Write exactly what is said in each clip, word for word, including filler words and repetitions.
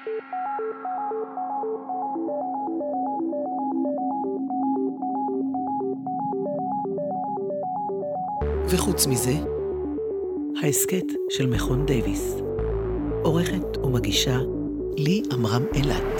וחוץ מזה, ההסקט של מכון דייוויס. עורכת ומגישה לי אמרם אילת.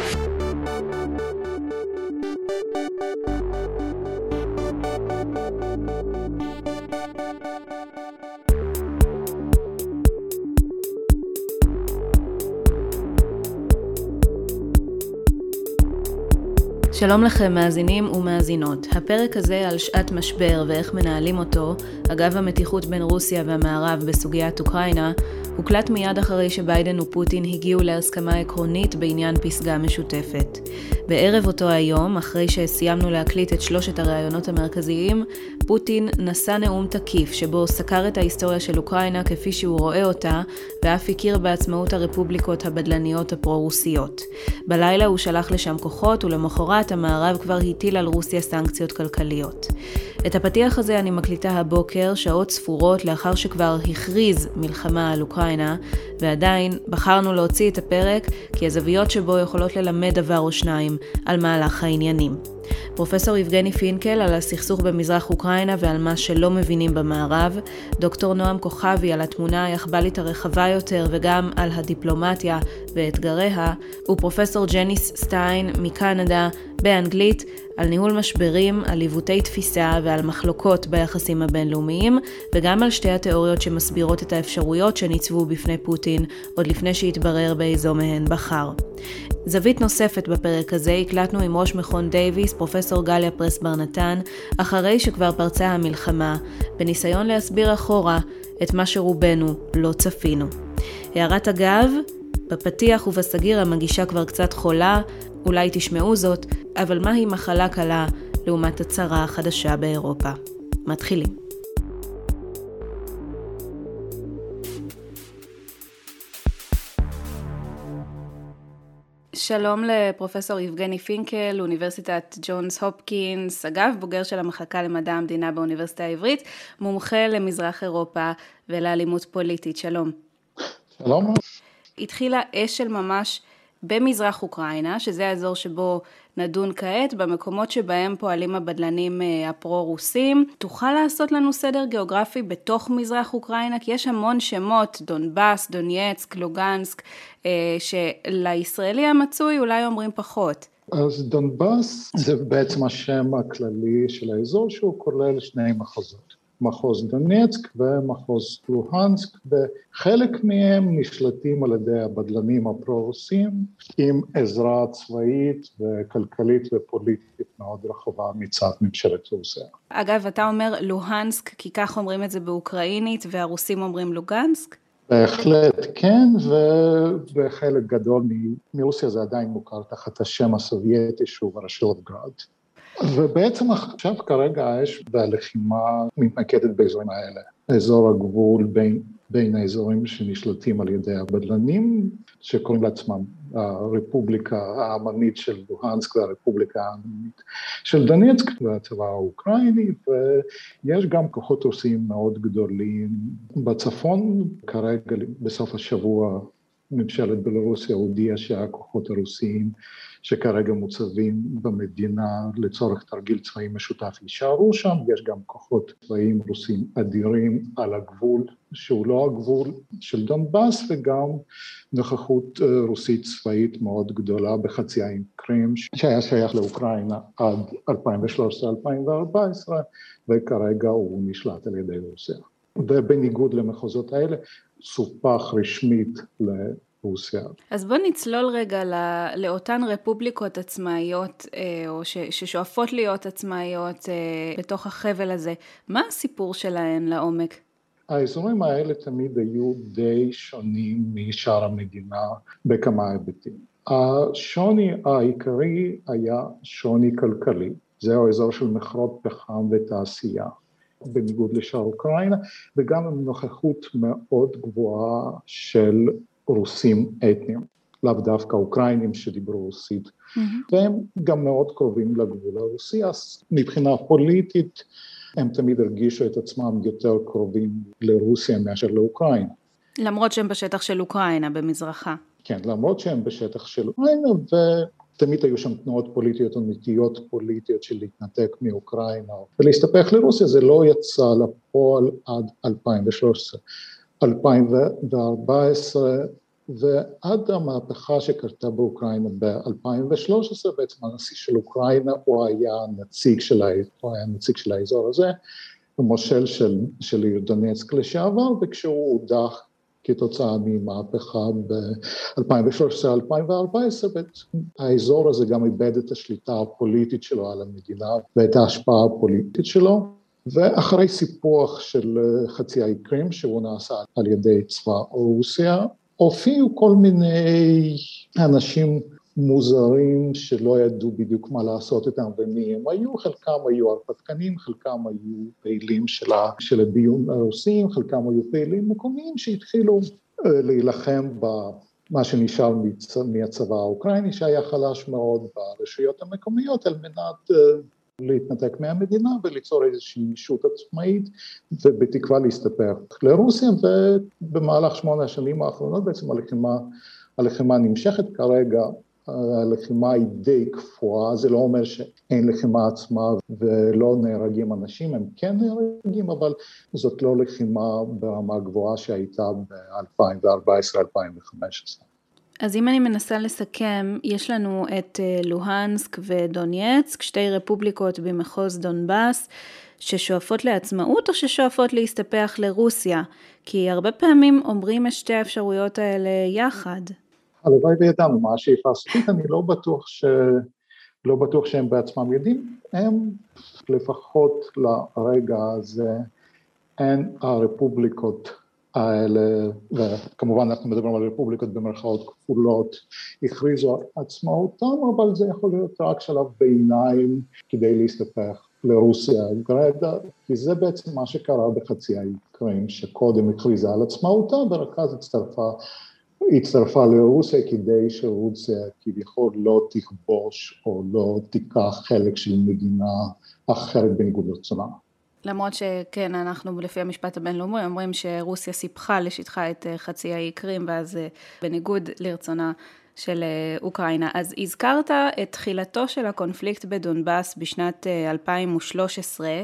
שלום לכם מאזינים ומאזינות. הפרק הזה על שעת משבר ואיך מנהלים אותו, אגב המתיחות בין רוסיה והמערב בסוגיית אוקראינה, הוקלט מיד אחרי שביידן ופוטין הגיעו להסכמה עקרונית בעניין פסגה משותפת. בערב אותו היום, אחרי שסיימנו להקליט את שלושת הראיונות המרכזיים, פוטין נשא נאום תקיף שבו סקר את ההיסטוריה של אוקראינה כפי שהוא רואה אותה, ואף הכיר בעצמאות הרפובליקות הבדלניות הפרו-רוסיות. בלילה הוא שלח לשם כוחות, ולמחרת המערב כבר הטיל על רוסיה סנקציות כלכליות. את הפתיח הזה אני מקליטה הבוקר, שעות ספורות לאחר שכבר הכריז מלחמה על אוקראינה, ועדיין בחרנו להוציא את הפרק כי הזוויות שבו יכולות ללמד דבר או שניים על מהלך העניינים. פרופסור יבגני פינקל על הסכסוך במזרח אוקראינה ועל מה שלא מבינים במערב, דוקטור נועם כוכבי על התמונה היחבלית הרחבה יותר וגם על הדיפלומטיה ואתגריה, ופרופסור ג'ניס סטיין מקנדה באנגלית על ניהול משברים, על עיוותי תפיסה ועל מחלוקות ביחסים הבינלאומיים, וגם על שתי התיאוריות שמסבירות את האפשרויות שניצבו בפני פוטין עוד לפני שהתברר באיזו מהן בחר. זווית נוספת בפרק הזה הקלטנו עם ראש מכון דייוויס, פרופסור גליה פרס בר נתן, אחרי שכבר פרצה המלחמה, בניסיון להסביר אחורה את מה שרובנו לא צפינו. הערת אגב, בפתיח ובסגיר המגישה כבר קצת חולה, אולי תשמעו זאת, אבל מהי מחלה קלה לעומת הצרה החדשה באירופה? מתחילים. שלום לפרופסור יבגני פינקל, אוניברסיטת ג'ונס הופקינס, אגב בוגר של המחלקה למדע המדינה באוניברסיטה העברית, מומחה למזרח אירופה ולאלימות פוליטית. שלום. שלום. התחילה אש של ממש במזרח אוקראינה, שזה האזור שבו נדון כעת, במקומות שבהם פועלים הבדלנים הפרו-רוסים. תוכל לעשות לנו סדר גיאוגרפי בתוך מזרח אוקראינה? כי יש המון שמות, דונבאס, דונייצק, לוגנסק, שלישראלי המצוי אולי אומרים פחות. אז דונבאס זה בעצם השם הכללי של האזור, שהוא כולל שני מחוזות. מחוז דונייצק ומחוז לוהנסק, וחלק מהם נשלטים על ידי הבדלנים הפרו-רוסים, עם עזרה צבאית וכלכלית ופוליטית מאוד רחבה מצד ממשלת רוסיה. אגב, אתה אומר לוהנסק, כי כך אומרים את זה באוקראינית, והרוסים אומרים לוגנסק? בהחלט כן, ובחלק גדול מרוסיה זה עדיין מוכר תחת השם הסובייטי, שהוא רשילובגרד. ובעצם עכשיו כרגע האש והלחימה מתמקדת באזורים האלה, אזור הגבול בין, בין האזורים שנשלטים על ידי הבדלנים, שקוראים לעצמם הרפובליקה העממית של לוהנסק והרפובליקה העממית של דונייצק והצבא האוקראיני, ויש גם כוחות רוסיים מאוד גדולים בצפון. כרגע בסוף השבוע ממשלת בלרוסיה הודיעה שהכוחות הרוסיים שכרגע מוצבים במדינה לצורך תרגיל צבאי משותף יישארו שם. יש גם כוחות צבאיים רוסים אדירים על הגבול, שהוא לא הגבול של דונבאס, וגם נוכחות רוסית צבאית מאוד גדולה בחצי האי קרים, שהיה שייך לאוקראינה עד אלפיים ושלוש עשרה אלפיים וארבע עשרה, וכרגע הוא נשלט על ידי רוסיה. ובניגוד למחוזות האלה, סופח רשמית ל... רוסיה. אז בוא נצלול רגע לא, לאותן רפובליקות עצמאיות, או ש, ששואפות להיות עצמאיות בתוך החבל הזה. מה הסיפור שלהן לעומק? האזורים האלה תמיד היו די שונים משאר המדינה בכמה היבטים. השוני העיקרי היה שוני כלכלי. זהו האזור של מכרות פחם ותעשייה, בניגוד לשאר אוקראינה, וגם עם נוכחות מאוד גבוהה של רוסים אתניים, לאו דווקא אוקראינים שדיברו רוסית, mm-hmm. והם גם מאוד קרובים לגבול הרוסי, אז מבחינה פוליטית הם תמיד הרגישו את עצמם יותר קרובים לרוסיה מאשר לאוקראינה. למרות שהם בשטח של אוקראינה, במזרחה. כן, למרות שהם בשטח של אוקראינה, ותמיד היו שם תנועות פוליטיות או נטיות פוליטיות של להתנתק מאוקראינה, ולהסתפח לרוסיה, זה לא יצא לפועל עד אלפיים ושלוש עשרה. אלפיים וארבע עשרה, ועד המהפכה שקרתה באוקראינה ב-אלפיים ושלוש עשרה, בעצם הנשיא של אוקראינה, הוא היה נציג של, הוא היה נציג של האזור הזה, המושל של, של העיר דונצק לשעבר, וכשהוא הודח כתוצאה ממהפכה ב-אלפיים ושלוש עשרה אלפיים וארבע עשרה, האזור הזה גם איבד את השליטה הפוליטית שלו על המדינה, ואת ההשפעה הפוליטית שלו, ואחרי סיפוח של חצי האי קרים, שהוא נעשה על ידי צבא רוסיה, הופיעו כל מיני אנשים מוזרים שלא ידעו בדיוק מה לעשות איתם ומי הם היו, חלקם היו הרפתקנים, חלקם היו פעילים של הביון הרוסים, חלקם היו פעילים מקומיים שהתחילו להילחם במה שנשאר מהצבא האוקראיני, שהיה חלש מאוד ברשויות המקומיות, על מנת להתנתק מהמדינה וליצור איזושהי ישות עצמאית, ובתקווה להסתפח לרוסיה, ובמהלך שמונה השנים האחרונות בעצם הלחימה, הלחימה נמשכת כרגע, הלחימה היא די קפואה, זה לא אומר שאין לחימה עצמה ולא נהרגים אנשים, הם כן נהרגים, אבל זאת לא לחימה ברמה גבוהה שהייתה ב-אלפיים וארבע עשרה אלפיים וחמש עשרה. אז אם אני מנסה לסכם, יש לנו את לוהנסק ודונייצק, שתי רפובליקות במחוז דונבאס, ששואפות לעצמאות או ששואפות להסתפח לרוסיה, כי הרבה פעמים אומרים את שתי האפשרויות האלה יחד. הלוואי וידענו מה השאיפה הסופית, אני לא בטוח, ש... לא בטוח שהם בעצמם יודעים, הם לפחות לרגע הזה, הן הרפובליקות האלה, וכמובן אנחנו מדברים על רפובליקות במרכאות כפולות, הכריזו עצמאותם, אבל זה יכול להיות רק שלב ביניים כדי להסתפח לרוסיה גרידא, כי זה בעצם מה שקרה בחצי האי קרים, שקודם הכריזה על עצמאותה, ורק אז הצטרפה, הצטרפה לרוסיה כדי שרוסיה כביכול לא תכבוש או לא תיקח חלק של מדינה אחרת בניגוד לרצונה. למרות שכן, אנחנו לפי המשפט הבינלאומי אומרים שרוסיה סיפחה לשטחה את חצי האי קרים, ואז בניגוד לרצונה של אוקראינה. אז הזכרת את תחילתו של הקונפליקט בדונבאס בשנת אלפיים ושלוש עשרה,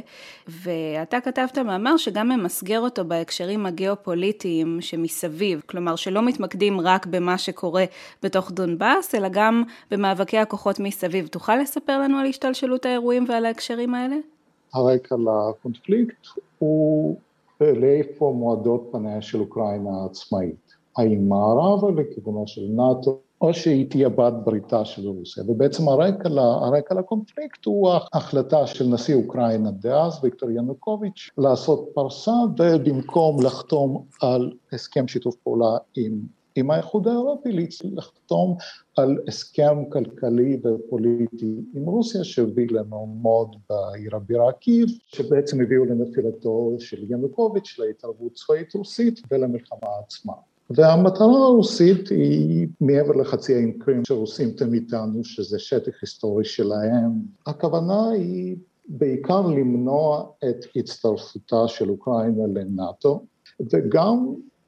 ואתה כתבת מאמר שגם ממסגר אותו בהקשרים הגיאופוליטיים שמסביב, כלומר שלא מתמקדים רק במה שקורה בתוך דונבאס, אלא גם במאבקי הכוחות מסביב. תוכל לספר לנו על השתלשלות האירועים ועל ההקשרים האלה? הרקע לקונפליקט הוא לאיפה מועדות פניה של אוקראינה העצמאית. האם מערבה לכיוונו של נאטו, או שהיא תהיה בת בריתה של רוסיה. ובעצם הרקע, הרקע לקונפליקט הוא ההחלטה של נשיא אוקראינה דאז, ויקטור ינוקוביץ', לעשות פרסה, ובמקום לחתום על הסכם שיתוף פעולה עם עם האיחוד האירופי, לחתום על הסכם כלכלי ופוליטי עם רוסיה, שהביא למהומות בעיר הבירה קייב, שבעצם הביאו לנפילתו של ינוקוביץ', להתערבות צבאית רוסית ולמלחמה עצמה. והמטרה הרוסית היא מעבר לחצי האי קרים שרוסים תמיד טענו שזה שטח היסטורי שלהם. הכוונה היא בעיקר למנוע את הצטרפותה של אוקראינה לנאטו, וגם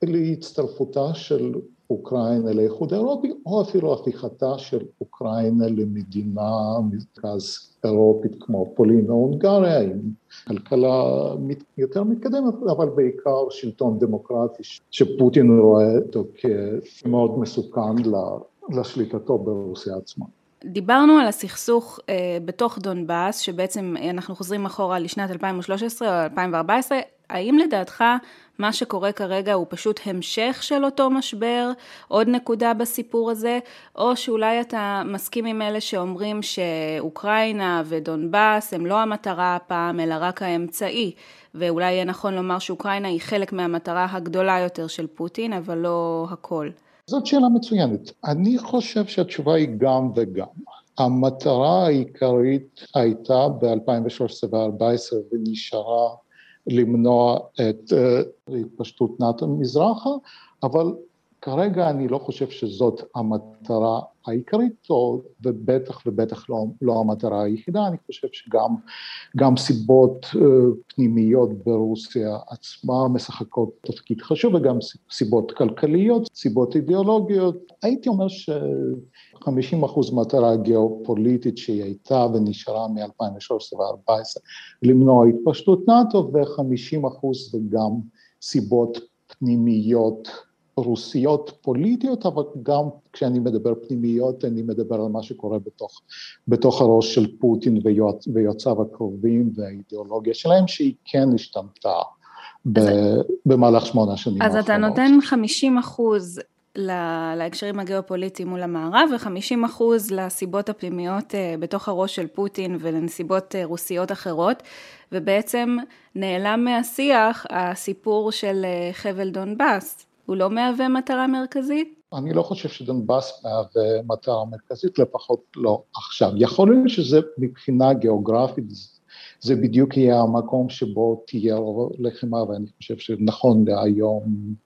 להצטרפותה של אוקראינה לאיחוד האירופי, או אפילו הפיכתה של אוקראינה למדינה מרכז אירופית כמו פולין או הונגריה, עם כלכלה יותר מתקדמת, אבל בעיקר שלטון דמוקרטי, שפוטין רואה אותו כמאוד מסוכן לשליטתו ברוסיה עצמה. דיברנו על הסכסוך אה, בתוך דונבאס, שבעצם אנחנו חוזרים אחורה לשנת אלפיים ושלוש עשרה או אלפיים וארבע עשרה, האם לדעתך מה שקורה כרגע הוא פשוט המשך של אותו משבר, עוד נקודה בסיפור הזה, או שאולי אתה מסכים עם אלה שאומרים שאוקראינה ודונבאס הם לא המטרה הפעם, אלא רק האמצעי, ואולי יהיה נכון לומר שאוקראינה היא חלק מהמטרה הגדולה יותר של פוטין, אבל לא הכל. זאת שאלה מצוינת. אני חושב שהתשובה היא גם וגם. המטרה העיקרית הייתה ב-אלפיים ושלוש עשרה ו-אלפיים וארבע עשרה ונשארה למנוע את התפשטות נאט"ו מזרחה, אבל כרגע אני לא חושב שזאת המטרה העיקרית, ובטח ובטח לא, לא המטרה היחידה. אני חושב שגם גם סיבות פנימיות ברוסיה עצמה משחקות תפקיד חשוב, וגם סיבות כלכליות, סיבות אידיאולוגיות. הייתי אומר ש-חמישים אחוז מטרה גיאופוליטית שהיא הייתה ונשארה מ-אלפיים ושלוש עשרה ו-ארבע עשרה למנוע התפשטות נאט"ו, ו-חמישים אחוז וגם סיבות פנימיות רוסיות פוליטיות, אבל גם כשאני מדבר פנימיות, אני מדבר על מה שקורה בתוך, בתוך הראש של פוטין ויועצ, ויועציו הקרובים והאידיאולוגיה שלהם, שהיא כן השתנתה ב, במהלך שמונה שנים אז האחרונות. אתה נותן חמישים אחוז להקשרים הגיאופוליטיים מול המערב, ו-חמישים אחוז לסיבות הפנימיות בתוך הראש של פוטין ולנסיבות רוסיות אחרות, ובעצם נעלם מהשיח הסיפור של חבל דונבאס. הוא לא מהווה מטרה מרכזית? אני לא חושב שדונבאס מהווה מטרה מרכזית, לפחות לא עכשיו. יכול להיות שזה מבחינה גיאוגרפית, זה בדיוק יהיה המקום שבו תהיה לחימה, ואני חושב שנכון להיום,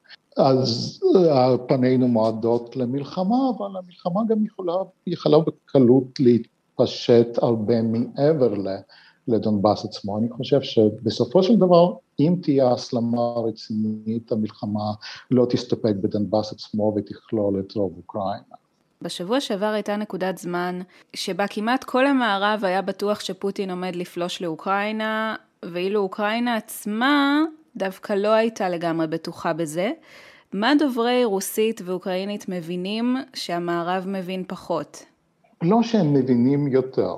אז פנינו מועדות למלחמה, אבל המלחמה גם יכולה, יכולה בקלות להתפשט הרבה מעבר ל... לדונבאס עצמו. אני חושב שבסופו של דבר, אם תהיה הסלמה רצינית, המלחמה לא תסתפק בדונבאס עצמו ותכלול את רוב אוקראינה. בשבוע שעבר הייתה נקודת זמן שבה כמעט כל המערב היה בטוח שפוטין עומד לפלוש לאוקראינה, ואילו אוקראינה עצמה דווקא לא הייתה לגמרי בטוחה בזה. מה דוברי רוסית ואוקראינית מבינים שהמערב מבין פחות? לא שהם מבינים יותר.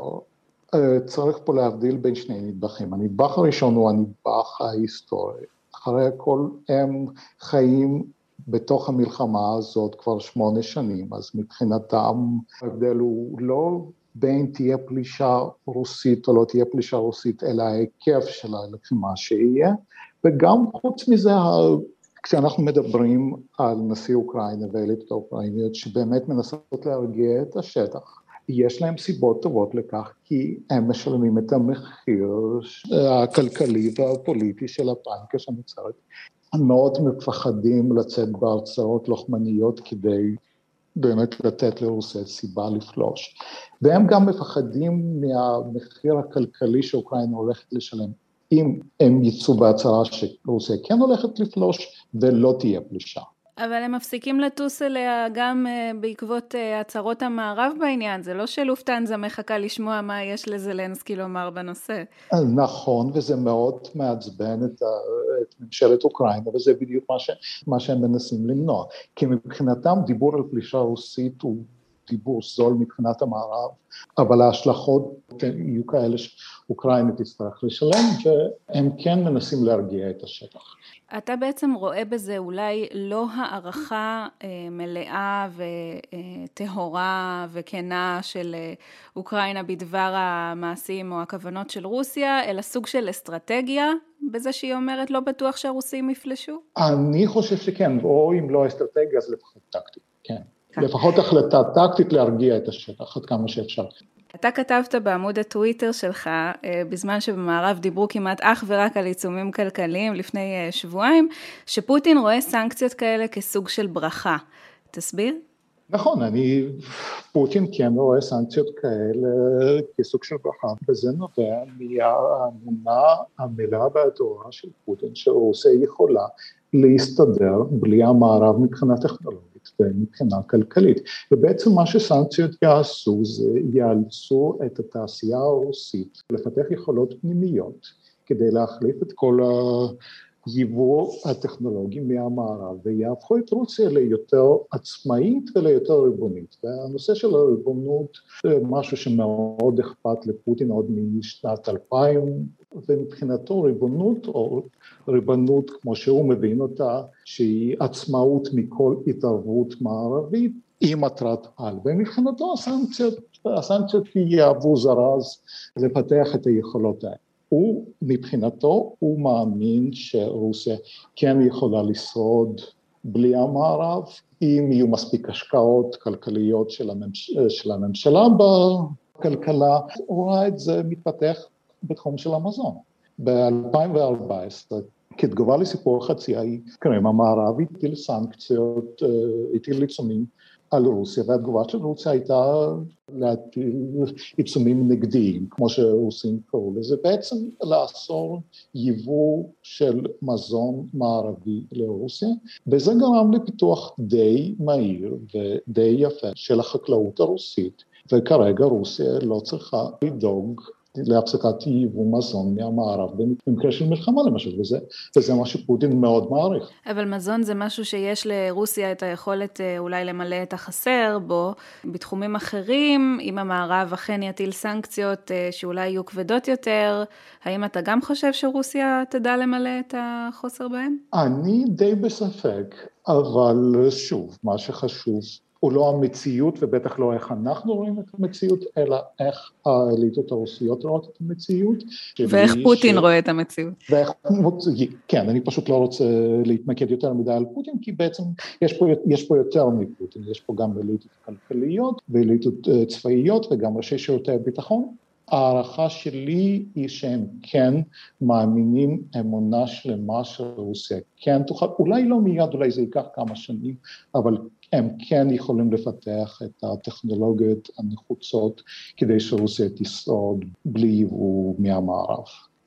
צריך פה להבדיל בין שני נדבכים. הנדבך הראשון הוא הנדבך ההיסטורי. אחרי הכל הם חיים בתוך המלחמה הזאת כבר שמונה שנים, אז מבחינתם ההבדל הוא לא בין תהיה פלישה רוסית או לא תהיה פלישה רוסית, אלא ההיקף של הלחימה שיהיה, וגם חוץ מזה, כשאנחנו מדברים על נשיא אוקראינה ואליטות האוקראיניות שבאמת מנסות להרגיע את השטח, יש להם סיבות טובות לכך, כי הם משלמים את המחיר הכלכלי והפוליטי של הפאניקה שנוצרת. הם מאוד מפחדים לצאת בהרצאות לוחמניות כדי באמת לתת לרוסיה סיבה לפלוש. והם גם מפחדים מהמחיר הכלכלי שאוקראינה הולכת לשלם, אם הם יצאו בהצהרה שרוסיה כן הולכת לפלוש ולא תהיה פלישה. אבל הם מפסיקים לטוס אליה גם בעקבות הצהרות המערב בעניין, זה לא שלופטנזה מחכה לשמוע מה יש לזלנסקי לומר בנושא. נכון, וזה מאוד מעצבן את, את ממשלת אוקראינה, וזה בדיוק מה, ש, מה שהם מנסים למנוע. כי מבחינתם דיבור על פלישה רוסית הוא דיבור זול מבחינת המערב, אבל ההשלכות יהיו כאלה שאוקראינה תצטרך לשלם, והם כן מנסים להרגיע את השטח. אתה בעצם רואה בזה אולי לא הערכה מלאה וטהורה וכנה של אוקראינה בדבר המעשים או הכוונות של רוסיה, אלא סוג של אסטרטגיה בזה שהיא אומרת לא בטוח שהרוסים יפלשו? אני חושב שכן, או אם לא אסטרטגיה אז לפחות טקטית, כן. לפחות החלטה טקטית להרגיע את השטח עד כמה שאפשר. אתה כתבת בעמוד הטוויטר שלך, בזמן שבמערב דיברו כמעט אך ורק על עיצומים כלכליים לפני שבועיים, שפוטין רואה סנקציות כאלה כסוג של ברכה. תסביר? נכון, אני, פוטין כן רואה סנקציות כאלה כסוג של ברכה, וזה נובע מהאמונה המלאה והטהורה של פוטין, שרוסיה יכולה להסתדר בלי המערב מבחינה טכנולוגית ומבחינה כלכלית. ובעצם מה שסנקציות יעשו זה יאלצו את התעשייה הרוסית לפתח יכולות פנימיות כדי להחליף את כל היבוא הטכנולוגי מהמערב, ויהפכו את רוסיה ליותר עצמאית וליותר ריבונית. והנושא של הריבונות זה משהו שמאוד אכפת לפוטין עוד משנת אלפיים, ומבחינתו ריבונות או ריבונות כמו שהוא מבין אותה, שהיא עצמאות מכל התערבות מערבית, היא מטרת על. ומבחינתו הסנקציות, הסנקציות יהוו זרז לפתח את היכולות האלה. הוא, מבחינתו, הוא מאמין שרוסיה כן יכולה לשרוד בלי המערב, אם יהיו מספיק השקעות כלכליות של, הממש... של הממשלה בכלכלה, הוא רואה את זה מתפתח בתחום של המזון. ב-אלפיים וארבע עשרה כתגובה לסיפור החצי האי קרים, המערב הטיל סנקציות, הטיל עיצומים על רוסיה, והתגובה של רוסיה הייתה להטיל עיצומים נגדיים, כמו שרוסים קראו לזה, בעצם לאסור ייבוא של מזון מערבי לרוסיה, וזה גרם לפיתוח די מהיר ודי יפה של החקלאות הרוסית, וכרגע רוסיה לא צריכה לדאוג להפסקת ייבוא מזון מהמערב במקרה של מלחמה למשל, וזה, וזה מה שפוטין מאוד מעריך. אבל מזון זה משהו שיש לרוסיה את היכולת אולי למלא את החסר בו, בתחומים אחרים, אם המערב אכן יטיל סנקציות שאולי יהיו כבדות יותר, האם אתה גם חושב שרוסיה תדע למלא את החוסר בהם? אני די בספק, אבל שוב, מה שחשוב, הוא לא המציאות, ובטח לא איך אנחנו רואים את המציאות, אלא איך האליטות הרוסיות רואות את המציאות. ואיך פוטין ש... רואה את המציאות. ואיך, כן, אני פשוט לא רוצה להתמקד יותר מדי על פוטין, כי בעצם יש פה, יש פה יותר מפוטין, יש פה גם אליטות כלכליות, ואליטות צבאיות, וגם ראשי שירותי הביטחון. הערכה שלי היא שהם כן מאמינים אמונה שלמה של רוסיה, כן תוכל, אולי לא מיד, אולי זה ייקח כמה שנים, אבל הם כן יכולים לפתח את הטכנולוגיות הנחוצות כדי שרוסיה תשרוד בלי ייבוא מהמערב.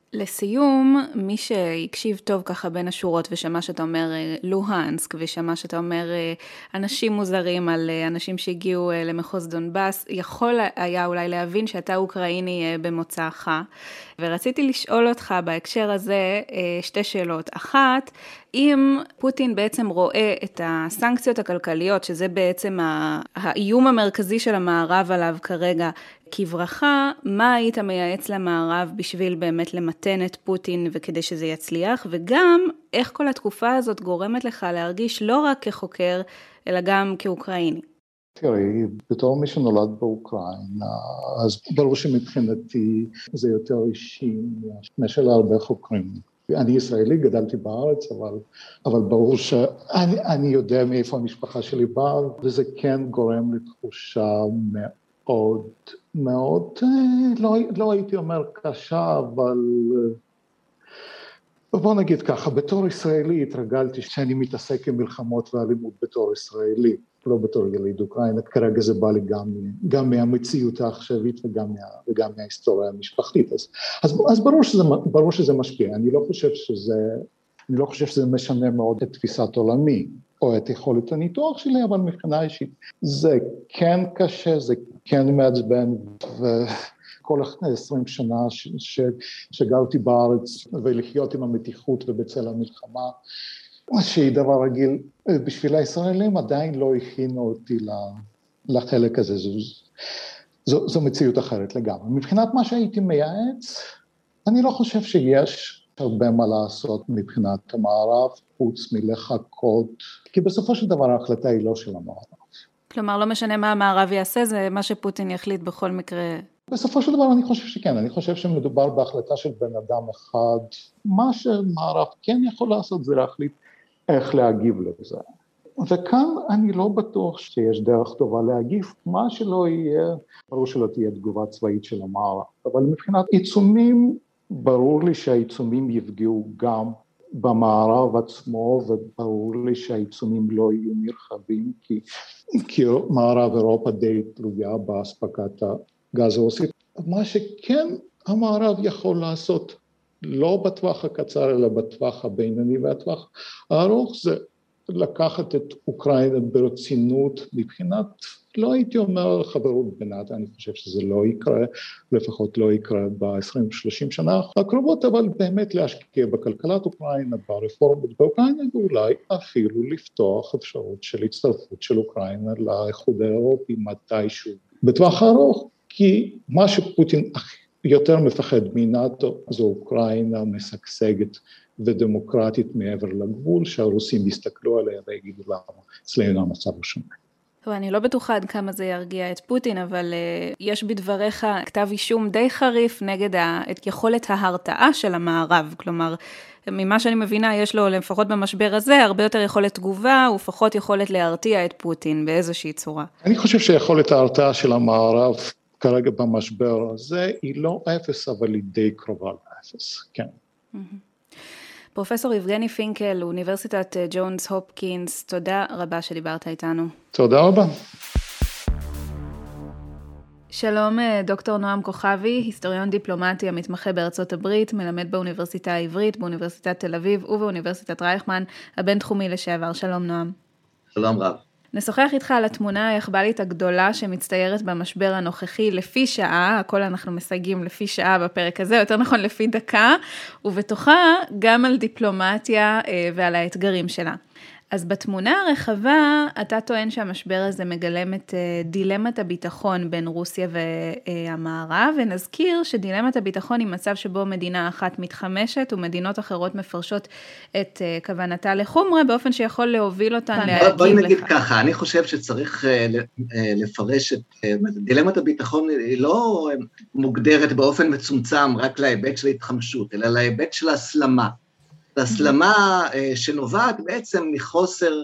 לסיום, מי שהקשיב טוב ככה בין השורות ושמע שאתה אומר לוהנסק, ושמע שאתה אומר אנשים מוזרים על אנשים שהגיעו למחוז דונבאס, יכול היה אולי להבין שאתה אוקראיני במוצאך, ורציתי לשאול אותך בהקשר הזה שתי שאלות. אחת, אם פוטין בעצם רואה את הסנקציות הכלכליות, שזה בעצם האיום המרכזי של המערב עליו כרגע, כברכה, מה היית מייעץ למערב בשביל באמת למתן את פוטין וכדי שזה יצליח, וגם איך כל התקופה הזאת גורמת לך להרגיש לא רק כחוקר, אלא גם כאוקראיני? תראי, בתור מי שנולד באוקראינה, אז ברור שמבחינתי זה יותר אישי משל הרבה חוקרים. אני ישראלי, גדלתי בארץ, אבל, אבל ברור שאני אני יודע מאיפה המשפחה שלי באה, וזה כן גורם לתחושה מאוד, מאוד, לא, לא הייתי אומר קשה, אבל בוא נגיד ככה, בתור ישראלי התרגלתי שאני מתעסק עם מלחמות ואלימות בתור ישראלי, לא בתור יליד אוקראינה, כרגע זה בא לי גם, גם מהמציאות העכשווית וגם, מה, וגם מההיסטוריה המשפחתית, אז, אז, אז ברור שזה, ברור שזה משפיע, אני לא חושב שזה, אני לא חושב שזה משנה מאוד את תפיסת עולמי, או את יכולת הניתוח שלי, אבל מבחינה אישית, זה כן קשה, זה כן מעצבן, וכל עשרים שנה ש, ש, שגרתי בארץ, ולחיות עם המתיחות ובצל המלחמה, שהיא דבר רגיל, בשביל הישראלים עדיין לא הכינו אותי לחלק הזה, זו, זו, זו מציאות אחרת לגמרי. מבחינת מה שהייתי מייעץ, אני לא חושב שיש הרבה מה לעשות מבחינת המערב, חוץ מלחכות, כי בסופו של דבר ההחלטה היא לא של המערב. כלומר, לא משנה מה המערב יעשה, זה מה שפוטין יחליט בכל מקרה. בסופו של דבר אני חושב שכן, אני חושב שמדובר בהחלטה של בן אדם אחד, מה שמערב כן יכול לעשות זה להחליט איך להגיב לזה. וכאן אני לא בטוח שיש דרך טובה להגיב, מה שלא יהיה, ברור שלא תהיה תגובה צבאית של המערב, אבל מבחינת עיצומים, ברור לי שהעיצומים יפגעו גם במערב עצמו, וברור לי שהעיצומים לא יהיו נרחבים, כי, כי מערב אירופה די תלויה באספקת הגז הרוסי. מה שכן המערב יכול לעשות, לא בטווח הקצר, אלא בטווח הבינוני והטווח הארוך, זה לקחת את אוקראינה ברצינות מבחינת, לא הייתי אומר חברות בינתה, אני חושב שזה לא יקרה, לפחות לא יקרה ב-עשרים שלושים שנה הקרובות, אבל באמת להשקיע בכלכלת אוקראינה, ברפורמות באוקראינה, ואולי אפילו לפתוח אפשרות של הצטרפות של אוקראינה לאיחוד האירופי מתישהו בטווח הארוך, כי מה שפוטין יותר מפחד מנאטו, זו אוקראינה משגשגת ודמוקרטית מעבר לגבול, שהרוסים יסתכלו עליה ויגידו למה, אצלנו המצב הוא שונה. אני לא בטוחה עד כמה זה ירגיע את פוטין, אבל uh, יש בדבריך כתב אישום די חריף נגד ה, את יכולת ההרתעה של המערב, כלומר, ממה שאני מבינה, יש לו לפחות במשבר הזה, הרבה יותר יכולת תגובה, ופחות יכולת להרתיע את פוטין באיזושהי צורה. אני חושב שיכולת ההרתעה של המערב, כרגע במשבר הזה, היא לא אפס, אבל היא די קרובה לאפס, כן. פרופסור יבגני פינקל, אוניברסיטת ג'ונס הופקינס, תודה רבה שדיברת איתנו. תודה רבה. שלום, דוקטור נועם כוכבי, היסטוריון דיפלומטי המתמחה בארצות הברית, מלמד באוניברסיטה העברית, באוניברסיטת תל אביב ובאוניברסיטת רייכמן, הבינתחומי לשעבר. שלום נועם. שלום רב. נשוחח איתך על התמונה היחב"לית הגדולה שמצטיירת במשבר הנוכחי לפי שעה, הכל אנחנו מסייגים לפי שעה בפרק הזה, יותר נכון לפי דקה, ובתוכה גם על דיפלומטיה ועל האתגרים שלה. אז בתמונה הרחבה, אתה טוען שהמשבר הזה מגלם את דילמת הביטחון בין רוסיה והמערב, ונזכיר שדילמת הביטחון היא מצב שבו מדינה אחת מתחמשת, ומדינות אחרות מפרשות את כוונתה לחומרה, באופן שיכול להוביל אותן להגיב לך. בואי נגיד ככה, אני חושב שצריך לפרש את דילמת הביטחון, היא לא מוגדרת באופן מצומצם רק להיבט של התחמשות, אלא להיבט של הסלמה. הסלמה שנובעת בעצם מחוסר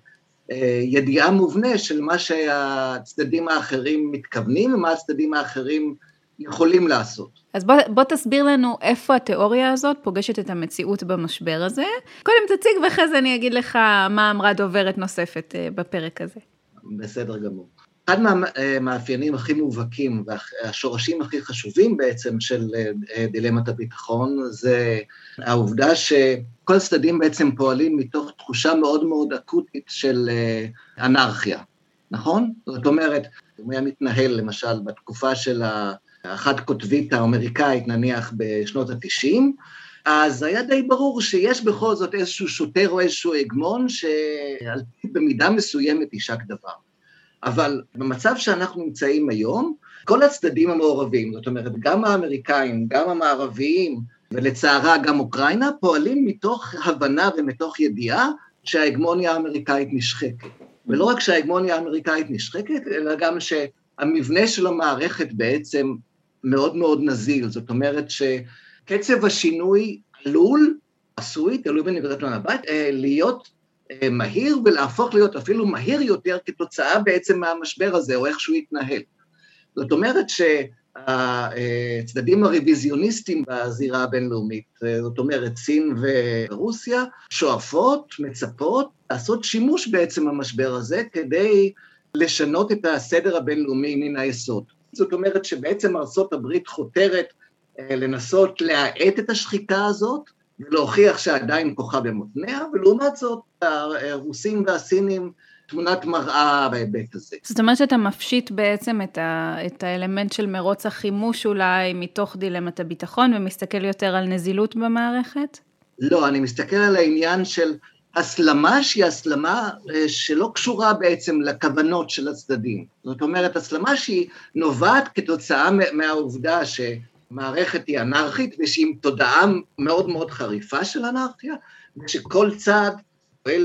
ידיעה מובנה של מה שהצדדים האחרים מתכוונים, ומה הצדדים האחרים יכולים לעשות. אז בוא, בוא תסביר לנו איפה התיאוריה הזאת פוגשת את המציאות במשבר הזה. קודם תציג ואחרי זה אני אגיד לך מה אמרה דוברת נוספת בפרק הזה. בסדר גמור. אחד מהמאפיינים הכי מובהקים והשורשים הכי חשובים בעצם של דילמת הביטחון זה העובדה שכל הצדדים בעצם פועלים מתוך תחושה מאוד מאוד אקוטית של אנרכיה, נכון? זאת אומרת, הוא היה מתנהל למשל בתקופה של האחת כותבית האמריקאית נניח בשנות ה-תשעים, אז היה די ברור שיש בכל זאת איזשהו שוטר או איזשהו הגמון שעל פי במידה מסוימת יישק דבר. אבל במצב שאנחנו נמצאים היום, כל הצדדים המעורבים, זאת אומרת, גם האמריקאים, גם המערביים, ולצערה גם אוקראינה, פועלים מתוך הבנה ומתוך ידיעה שההגמוניה האמריקאית נשחקת. ולא רק שההגמוניה האמריקאית נשחקת, אלא גם שהמבנה של המערכת בעצם מאוד מאוד נזיל. זאת אומרת שקצב השינוי עלול, עשוי, תלוי בנקודת המבט, להיות מהיר ולהפוך להיות אפילו מהיר יותר כתוצאה בעצם מהמשבר הזה, או איך שהוא יתנהל. זאת אומרת שהצדדים הרוויזיוניסטים בזירה הבינלאומית, זאת אומרת סין ורוסיה, שואפות, מצפות, לעשות שימוש בעצם המשבר הזה, כדי לשנות את הסדר הבינלאומי מן היסוד. זאת אומרת שבעצם ארצות הברית חותרת לנסות להאט את השחיקה הזאת, ולהוכיח שעדיין כוחה במותניה, ולעומת זאת, הרוסים והסינים תמונת מראה בהיבט הזה. זאת אומרת שאתה מפשיט בעצם את, ה, את האלמנט של מרוץ החימוש אולי מתוך דילמת הביטחון, ומסתכל יותר על נזילות במערכת? לא, אני מסתכל על העניין של הסלמה שהיא הסלמה שלא קשורה בעצם לכוונות של הצדדים. זאת אומרת, הסלמה שהיא נובעת כתוצאה מהעובדה ש... מערכת היא אנרכית, ושהיא עם תודעה מאוד מאוד חריפה של אנרכיה, ושכל צד פועל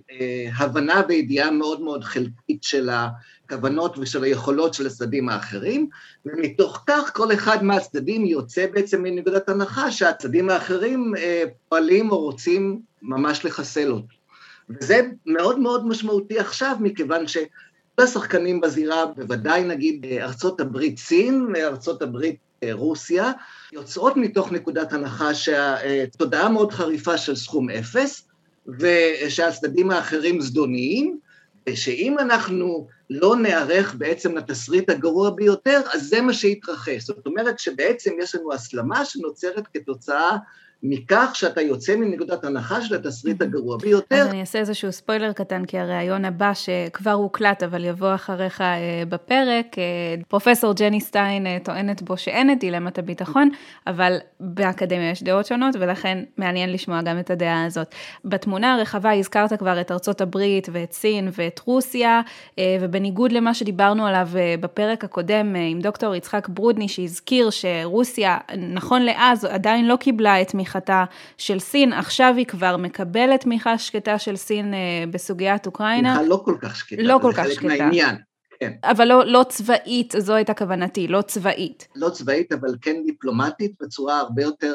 בהבנה וידיעה מאוד מאוד חלקית של הכוונות ושל היכולות של הצדדים האחרים, ומתוך כך כל אחד מהצדדים יוצא בעצם מנקודת הנחה שהצדדים האחרים פועלים או רוצים ממש לחסל אותו. וזה מאוד מאוד משמעותי עכשיו, מכיוון ש... השחקנים בזירה, בוודאי נגיד ארצות הברית סין, ארצות הברית רוסיה, יוצאות מתוך נקודת הנחה שהתודעה מאוד חריפה של סכום אפס, ושהצדדים האחרים זדוניים, ושאם אנחנו לא נערך בעצם לתסריט הגרוע ביותר, אז זה מה שיתרחש. זאת אומרת שבעצם יש לנו הסלמה שנוצרת כתוצאה מכך שאתה יוצא מנקודת הנחה של התסריט הגרוע ביותר. אז אני אעשה איזשהו ספוילר קטן, כי הרעיון הבא שכבר הוקלט, אבל יבוא אחריך בפרק, פרופסור ג'ני סטיין טוענת בו שאין את דילמת הביטחון, אבל באקדמיה יש דעות שונות, ולכן מעניין לשמוע גם את הדעה הזאת. בתמונה הרחבה הזכרת כבר את ארצות הברית ואת סין ואת רוסיה, ובניגוד למה שדיברנו עליו בפרק הקודם עם דוקטור יצחק ברודני, שהזכיר שרוסיה, נכון לאז, עדיין לא קיבלה את תמיכה של סין, עכשיו היא כבר מקבלת תמיכה שקטה של סין בסוגיית אוקראינה. תמיכה לא כל כך שקטה, לא כל זה כך חלק שקטה. מהעניין. כן. אבל לא, לא צבאית, זו הייתה כוונתי, לא צבאית. לא צבאית, אבל כן דיפלומטית, בצורה הרבה יותר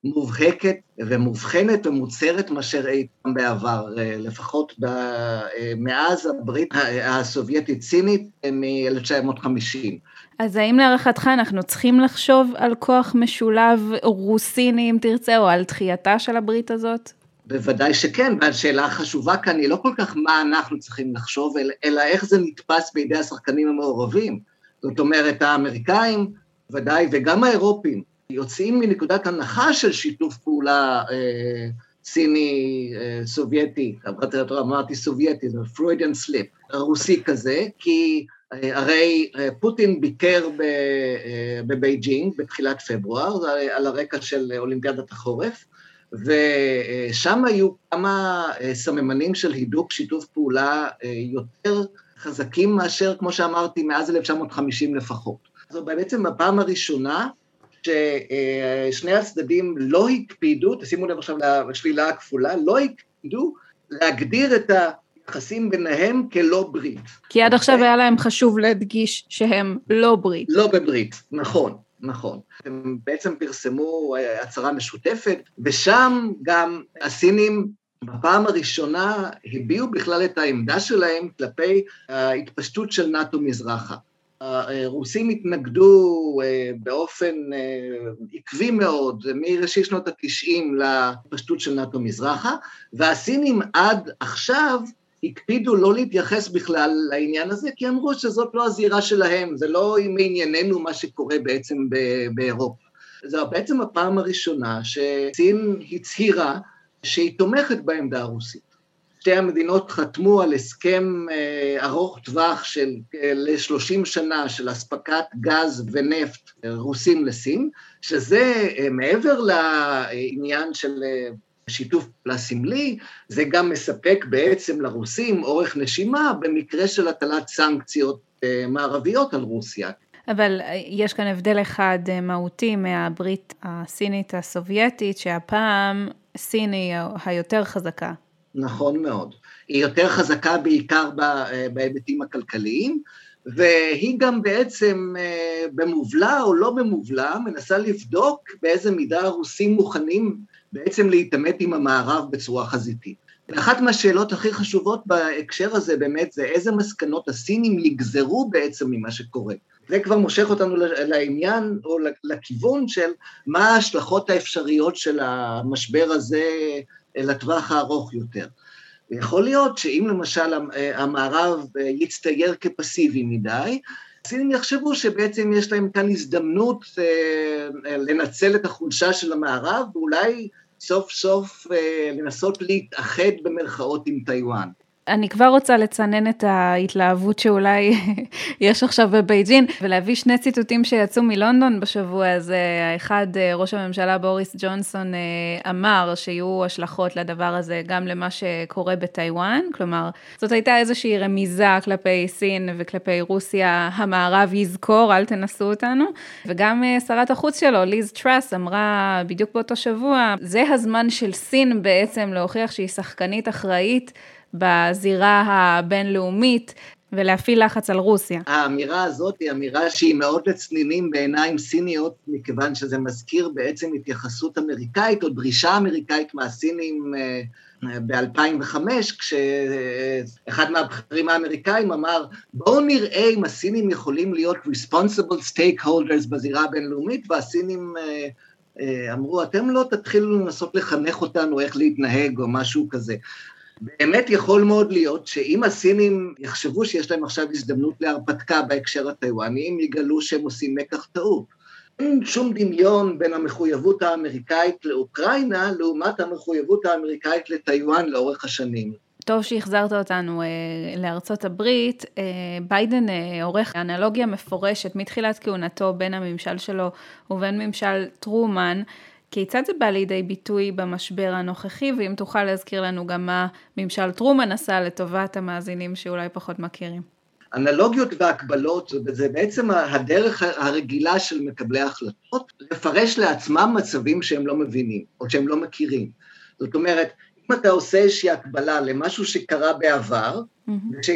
מובהקת ומובחנת ומוצהרת מאשר אי פעם בעבר, לפחות מאז הברית הסובייטית סינית מ-אלף תשע מאות וחמישים. אז האם להערכתך אנחנו צריכים לחשוב על כוח משולב רוסיני, אם תרצה, או על דחייתה של הברית הזאת? בוודאי שכן, והשאלה החשובה כאן היא לא כל כך מה אנחנו צריכים לחשוב, אלא איך זה נתפס בידי השחקנים המעורבים. זאת אומרת, האמריקאים, ודאי, וגם האירופים, יוצאים מנקודת הנחה של שיתוף פעולה אה, סיני, אה, סובייטי, אמרתי סובייטי, זה פרוידיאן סליפ, רוסי כזה, כי אה, הרי אה, פוטין ביקר ב, אה, בבייג'ינג בתחילת פברואר, על הרקע של אולימפיאדת החורף, ושם היו כמה סממנים של הידוק שיתוף פעולה יותר חזקים מאשר, כמו שאמרתי, מאז אלף תשע מאות וחמישים לפחות. זו בעצם הפעם הראשונה ששני הצדדים לא הקפידו, תשימו לב עכשיו לשלילה הכפולה, לא הקפידו להגדיר את היחסים ביניהם כלא ברית. כי עד עכשיו היה להם חשוב להדגיש שהם לא ברית. לא בברית, נכון. נכון. הם בעצם פרסמו הצהרה משותפת, ושם גם הסינים בפעם הראשונה הביעו בכלל את העמדה שלהם כלפי ההתפשטות של נאטו מזרחה. הרוסים התנגדו באופן עקבי מאוד, מראשית שנות התשעים להתפשטות של נאטו מזרחה, והסינים עד עכשיו הקפידו לא להתייחס בכלל לעניין הזה, כי אמרו שזאת לא הזירה שלהם, זה לא מענייננו מה שקורה בעצם באירופה. זו בעצם הפעם הראשונה שסין הצהירה שהיא תומכת בעמדה הרוסית. שתי המדינות חתמו על הסכם ארוך טווח של ל-שלושים שנה של אספקת גז ונפט רוסים לסין, שזה מעבר לעניין של שיתוף פעולה סמלי, זה גם מספק בעצם לרוסים אורך נשימה במקרה של הטלת סנקציות מערביות על רוסיה. אבל יש כאן הבדל אחד מהותי מהברית הסינית הסובייטית, שהפעם סין היא היותר חזקה. נכון מאוד. היא יותר חזקה בעיקר בהיבטים הכלכליים, והיא גם בעצם במובלה או לא במובלה, מנסה לבדוק באיזה מידה הרוסים מוכנים בעצם להתעמת עם המערב בצורה חזיתית. אחת מהשאלות הכי חשובות בהקשר הזה באמת זה איזה מסקנות הסינים יגזרו בעצם ממה שקורה. זה כבר מושך אותנו לעניין או לכיוון של מה ההשלכות האפשריות של המשבר הזה לטווח הארוך יותר. יכול להיות שאם למשל המערב יצטייר כפסיבי מדי, הסינים יחשבו שבעצם יש להם כאן הזדמנות לנצל את החולשה של המערב, ואולי סוף סוף לנסות להתאחד במרכאות עם טיואן. אני כבר רוצה לצנן את ההתלהבות שאולי יש עכשיו בבייג'ין, ולהביא שני ציטוטים שיצאו מלונדון בשבוע הזה. האחד, ראש הממשלה בוריס ג'ונסון אמר שיהיו השלכות לדבר הזה גם למה שקורה בטיואן, כלומר, זאת הייתה איזושהי רמיזה כלפי סין וכלפי רוסיה, המערב יזכור, אל תנסו אותנו, וגם שרת החוץ שלו, ליז טראס, אמרה בדיוק באותו שבוע, זה הזמן של סין בעצם להוכיח שהיא שחקנית אחראית, בזירה הבינלאומית, ולהפעיל לחץ על רוסיה. האמירה הזאת היא אמירה שהיא מאוד לצנינים בעיניים סיניות, מכיוון שזה מזכיר בעצם התייחסות אמריקאית, או דרישה אמריקאית מהסינים ב-אלפיים וחמש, כשאחד מהבכירים האמריקאים אמר, בואו נראה אם הסינים יכולים להיות responsible stakeholders בזירה הבינלאומית, והסינים אמרו, אתם לא תתחילו לנסות לחנך אותנו איך להתנהג, או משהו כזה. באמת יכול מאוד להיות שאם הסינים יחשבו שיש להם עכשיו הזדמנות להרפתקה בהקשר הטיואני, הם יגלו שהם עושים מקח טעות. אין שום דמיון בין המחויבות האמריקאית לאוקראינה, לעומת המחויבות האמריקאית לטיואן לאורך השנים. טוב שהחזרת אותנו אה, לארצות הברית, אה, ביידן אה, עורך אנלוגיה מפורשת מתחילת כהונתו בין הממשל שלו ובין ממשל טרומן, כיצד זה בא לידי ביטוי במשבר הנוכחי, ואם תוכל להזכיר לנו גם מה ממשל טרומן עשה לטובת המאזינים שאולי פחות מכירים. אנלוגיות והקבלות, זה בעצם הדרך הרגילה של מקבלי ההחלטות, לפרש לעצמם מצבים שהם לא מבינים, או שהם לא מכירים. זאת אומרת, אם אתה עושה איזושהי הקבלה למשהו שקרה בעבר, mm-hmm.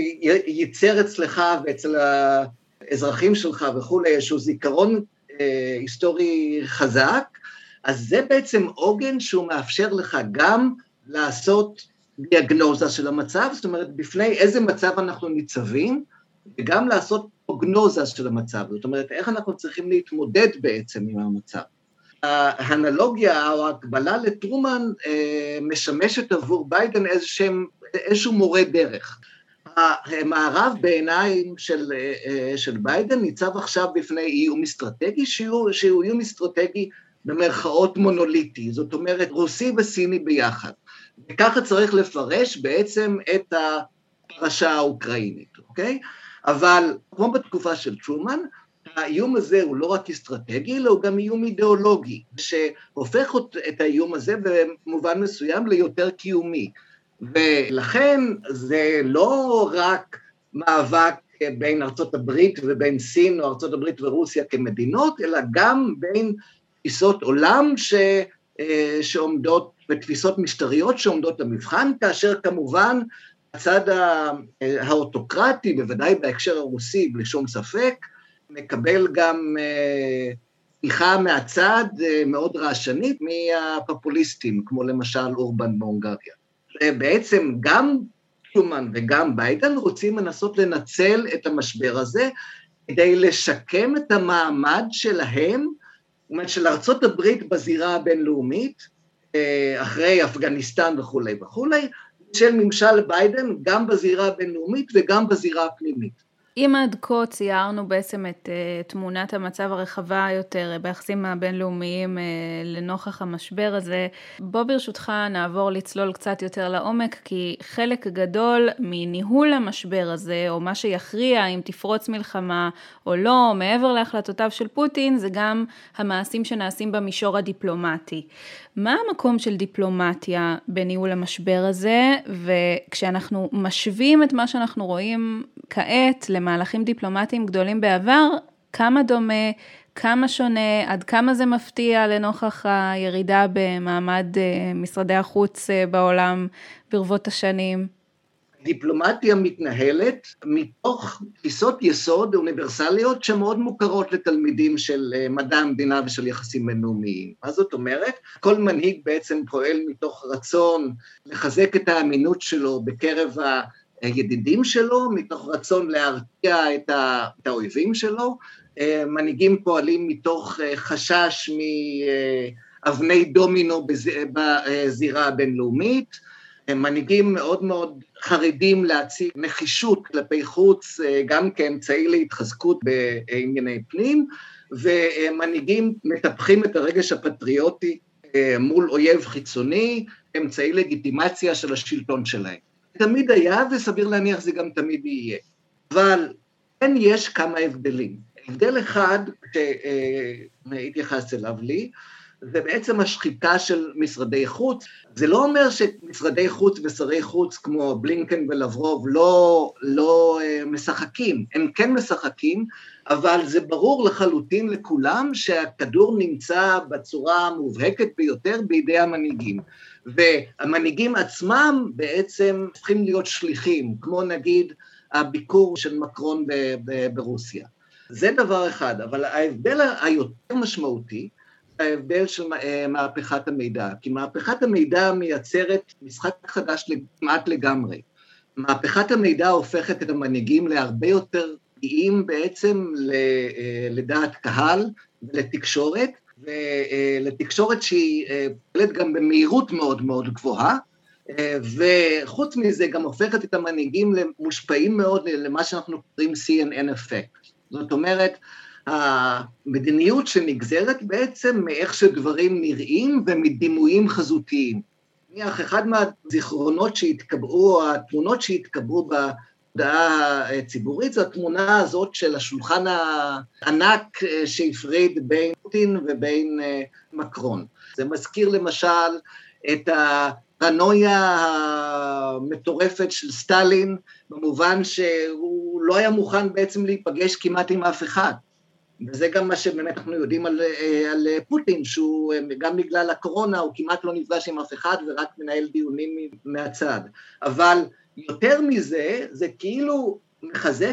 שייצר אצלך ואצל האזרחים שלך וכו', איזשהו זיכרון אה, היסטורי חזק, אז זה בעצם עוגן שהוא מאפשר לך גם לעשות דיאגנוזה של המצב, זאת אומרת, בפני איזה מצב אנחנו ניצבים, וגם לעשות פרוגנוזה של המצב, זאת אומרת, איך אנחנו צריכים להתמודד בעצם עם המצב. האנלוגיה או ההקבלה לטרומן אה, משמשת עבור ביידן איזשהו, איזשהו מורה דרך. המערב בעיניים של, אה, של ביידן ניצב עכשיו בפני איום אסטרטגי, שהוא, שהוא איום אסטרטגי במרכאות מונוליטי, זאת אומרת רוסי וסיני ביחד. וככה צריך לפרש בעצם את הפרשה האוקראינית, אוקיי? אבל כמו בתקופה של טרומן, האיום הזה הוא לא רק אסטרטגי, אלא הוא גם איום אידיאולוגי, שהופך את האיום הזה במובן מסוים ליותר קיומי. ולכן זה לא רק מאבק בין ארצות הברית ובין סין, או ארצות הברית ורוסיה כמדינות, אלא גם בין תפיסות עולם ש, שעומדות, ותפיסות משטריות שעומדות למבחן, כאשר כמובן הצד האוטוקרטי, בוודאי בהקשר הרוסי, בלי שום ספק, מקבל גם תמיכה מהצד מאוד רעשנית מהפופוליסטים, כמו למשל אורבן בהונגריה. בעצם גם טרומן וגם ביידן רוצים לנסות לנצל את המשבר הזה, כדי לשקם את המעמד שלהם, של ארצות הברית בזירה הבינלאומית, אחרי אפגניסטן וכו' וכו', של ממשל ביידן גם בזירה הבינלאומית וגם בזירה הפנימית. אם עד כה ציירנו בעצם את uh, תמונת המצב הרחבה יותר uh, ביחסים הבינלאומיים uh, לנוכח המשבר הזה, בוא ברשותך נעבור לצלול קצת יותר לעומק, כי חלק גדול מניהול המשבר הזה, או מה שיכריע אם תפרוץ מלחמה או לא, מעבר להחלטותיו של פוטין, זה גם המעשים שנעשים במישור הדיפלומטי. מה המקום של דיפלומטיה בניהול המשבר הזה, וכשאנחנו משווים את מה שאנחנו רואים כעת למהלכים דיפלומטיים גדולים בעבר, כמה דומה, כמה שונה, עד כמה זה מפתיע לנוכח הירידה במעמד משרדי החוץ בעולם ברבות השנים? דיפלומטיה מתנהלת מתוך תפיסות יסוד אוניברסליות שמאוד מוכרות לתלמידים של מדע המדינה ושל יחסים בינלאומיים. מה זאת אומרת? כל מנהיג בעצם פועל מתוך רצון לחזק את האמינות שלו בקרב הידידים שלו, מתוך רצון להרתיע את האויבים שלו. מנהיגים פועלים מתוך חשש מאבני דומינו בזירה הבינלאומית. מנהיגים מאוד מאוד חרדים להציג נחישות כלפי חוץ, גם כאמצעי להתחזקות בענייני פנים, ומנהיגים מטפחים את הרגש הפטריוטי מול אויב חיצוני, אמצעי לגיטימציה של השלטון שלהם. תמיד היה, וסביר להניח זה גם תמיד יהיה. אבל כן יש כמה הבדלים. הבדל אחד שהתייחס אליו לי, זה בעצם השחיקה של משרדי חוץ. זה לא אומר שמשרדי חוץ ושרי חוץ כמו בלינקן ולברוב לא, לא משחקים, הם כן משחקים, אבל זה ברור לחלוטין לכולם שהכדור נמצא בצורה המובהקת ביותר בידי המנהיגים. והמנהיגים עצמם בעצם צריכים להיות שליחים, כמו נגיד הביקור של מקרון ברוסיה. זה דבר אחד, אבל ההבדל היותר משמעותי, ההבדל של מהפכת המידע, כי מהפכת המידע מייצרת משחק חדש כמעט לגמרי. מהפכת המידע הופכת את המנהיגים להרבה יותר פגיעים בעצם לדעת קהל ולתקשורת, ולתקשורת שהיא פועלת גם במהירות מאוד מאוד גבוהה, וחוץ מזה גם הופכת את המנהיגים למושפעים מאוד למה שאנחנו קוראים סי אן אן effect. זאת אומרת, המדיניות שנגזרת בעצם מאיך שדברים נראים ומדימויים חזותיים. אחד מהזיכרונות שהתקבעו, או התמונות שהתקבעו בתודעה הציבורית, זו התמונה הזאת של השולחן הענק שהפריד בין פוטין ובין מקרון. זה מזכיר למשל את הפרנויה המטורפת של סטלין, במובן שהוא לא היה מוכן בעצם להיפגש כמעט עם אף אחד. וזה גם מה שבאמת אנחנו יודעים על, על פוטין, שהוא גם בגלל הקורונה, הוא כמעט לא נפגש עם אף אחד ורק מנהל דיונים מהצד. אבל יותר מזה, זה כאילו מחזק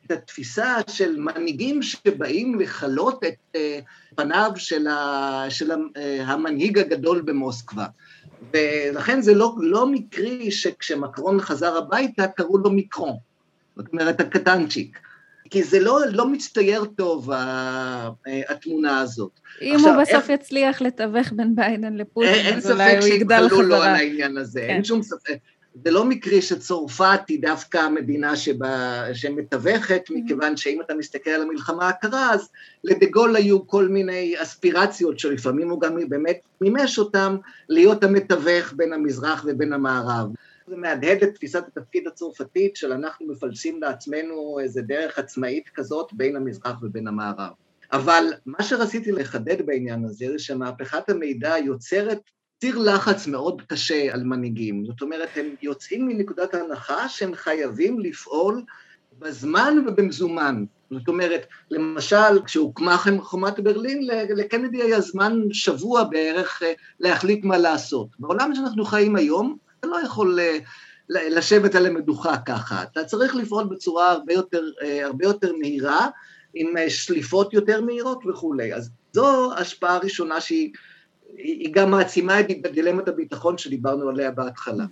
את התפיסה של מנהיגים שבאים לחלות את פניו של, ה, של המנהיג הגדול במוסקבה. ולכן זה לא, לא מקרי שכשמקרון חזר הביתה קראו לו מיקרון, זאת אומרת הקטנצ'יק, כי זה לא, לא מצטייר טוב התמונה הזאת. אם עכשיו, הוא בסוף איך... יצליח לתווך בין ביידן לפוטין, אז אולי הוא יגדל חזרה. אין ספק שיתחלו לו על העניין הזה, כן. אין שום ספק. זה לא מקרי שצורפת היא דווקא המדינה שבה, שמתווכת, מכיוון שאם אתה מסתכל על המלחמה הקרה, אז לדגול היו כל מיני אספירציות שלפעמים הוא גם באמת מימש אותם להיות המתווך בין המזרח ובין המערב. זה מהדהד את תפיסת התפקיד הצורפתית של אנחנו מפלסים לעצמנו איזה דרך עצמאית כזאת בין המזרח ובין המערב. אבל מה שרציתי לחדד בעניין הזה זה שמהפכת המידע יוצרת ציר לחץ מאוד קשה על מנהיגים. זאת אומרת, הם יוצאים מנקודת ההנחה שהם חייבים לפעול בזמן ובמזומן. זאת אומרת, למשל, כשהוקמה חומת ברלין, לקנדי היה זמן שבוע בערך להחליט מה לעשות. בעולם שאנחנו חיים היום, אתה לא יכול לשבת על המדוכה ככה. אתה צריך לפעול בצורה הרבה יותר, הרבה יותר מהירה, עם שליפות יותר מהירות וכו'. אז זו השפעה ראשונה שהיא היא גם מעצימה את דילמת הביטחון שדיברנו עליה בהתחלה.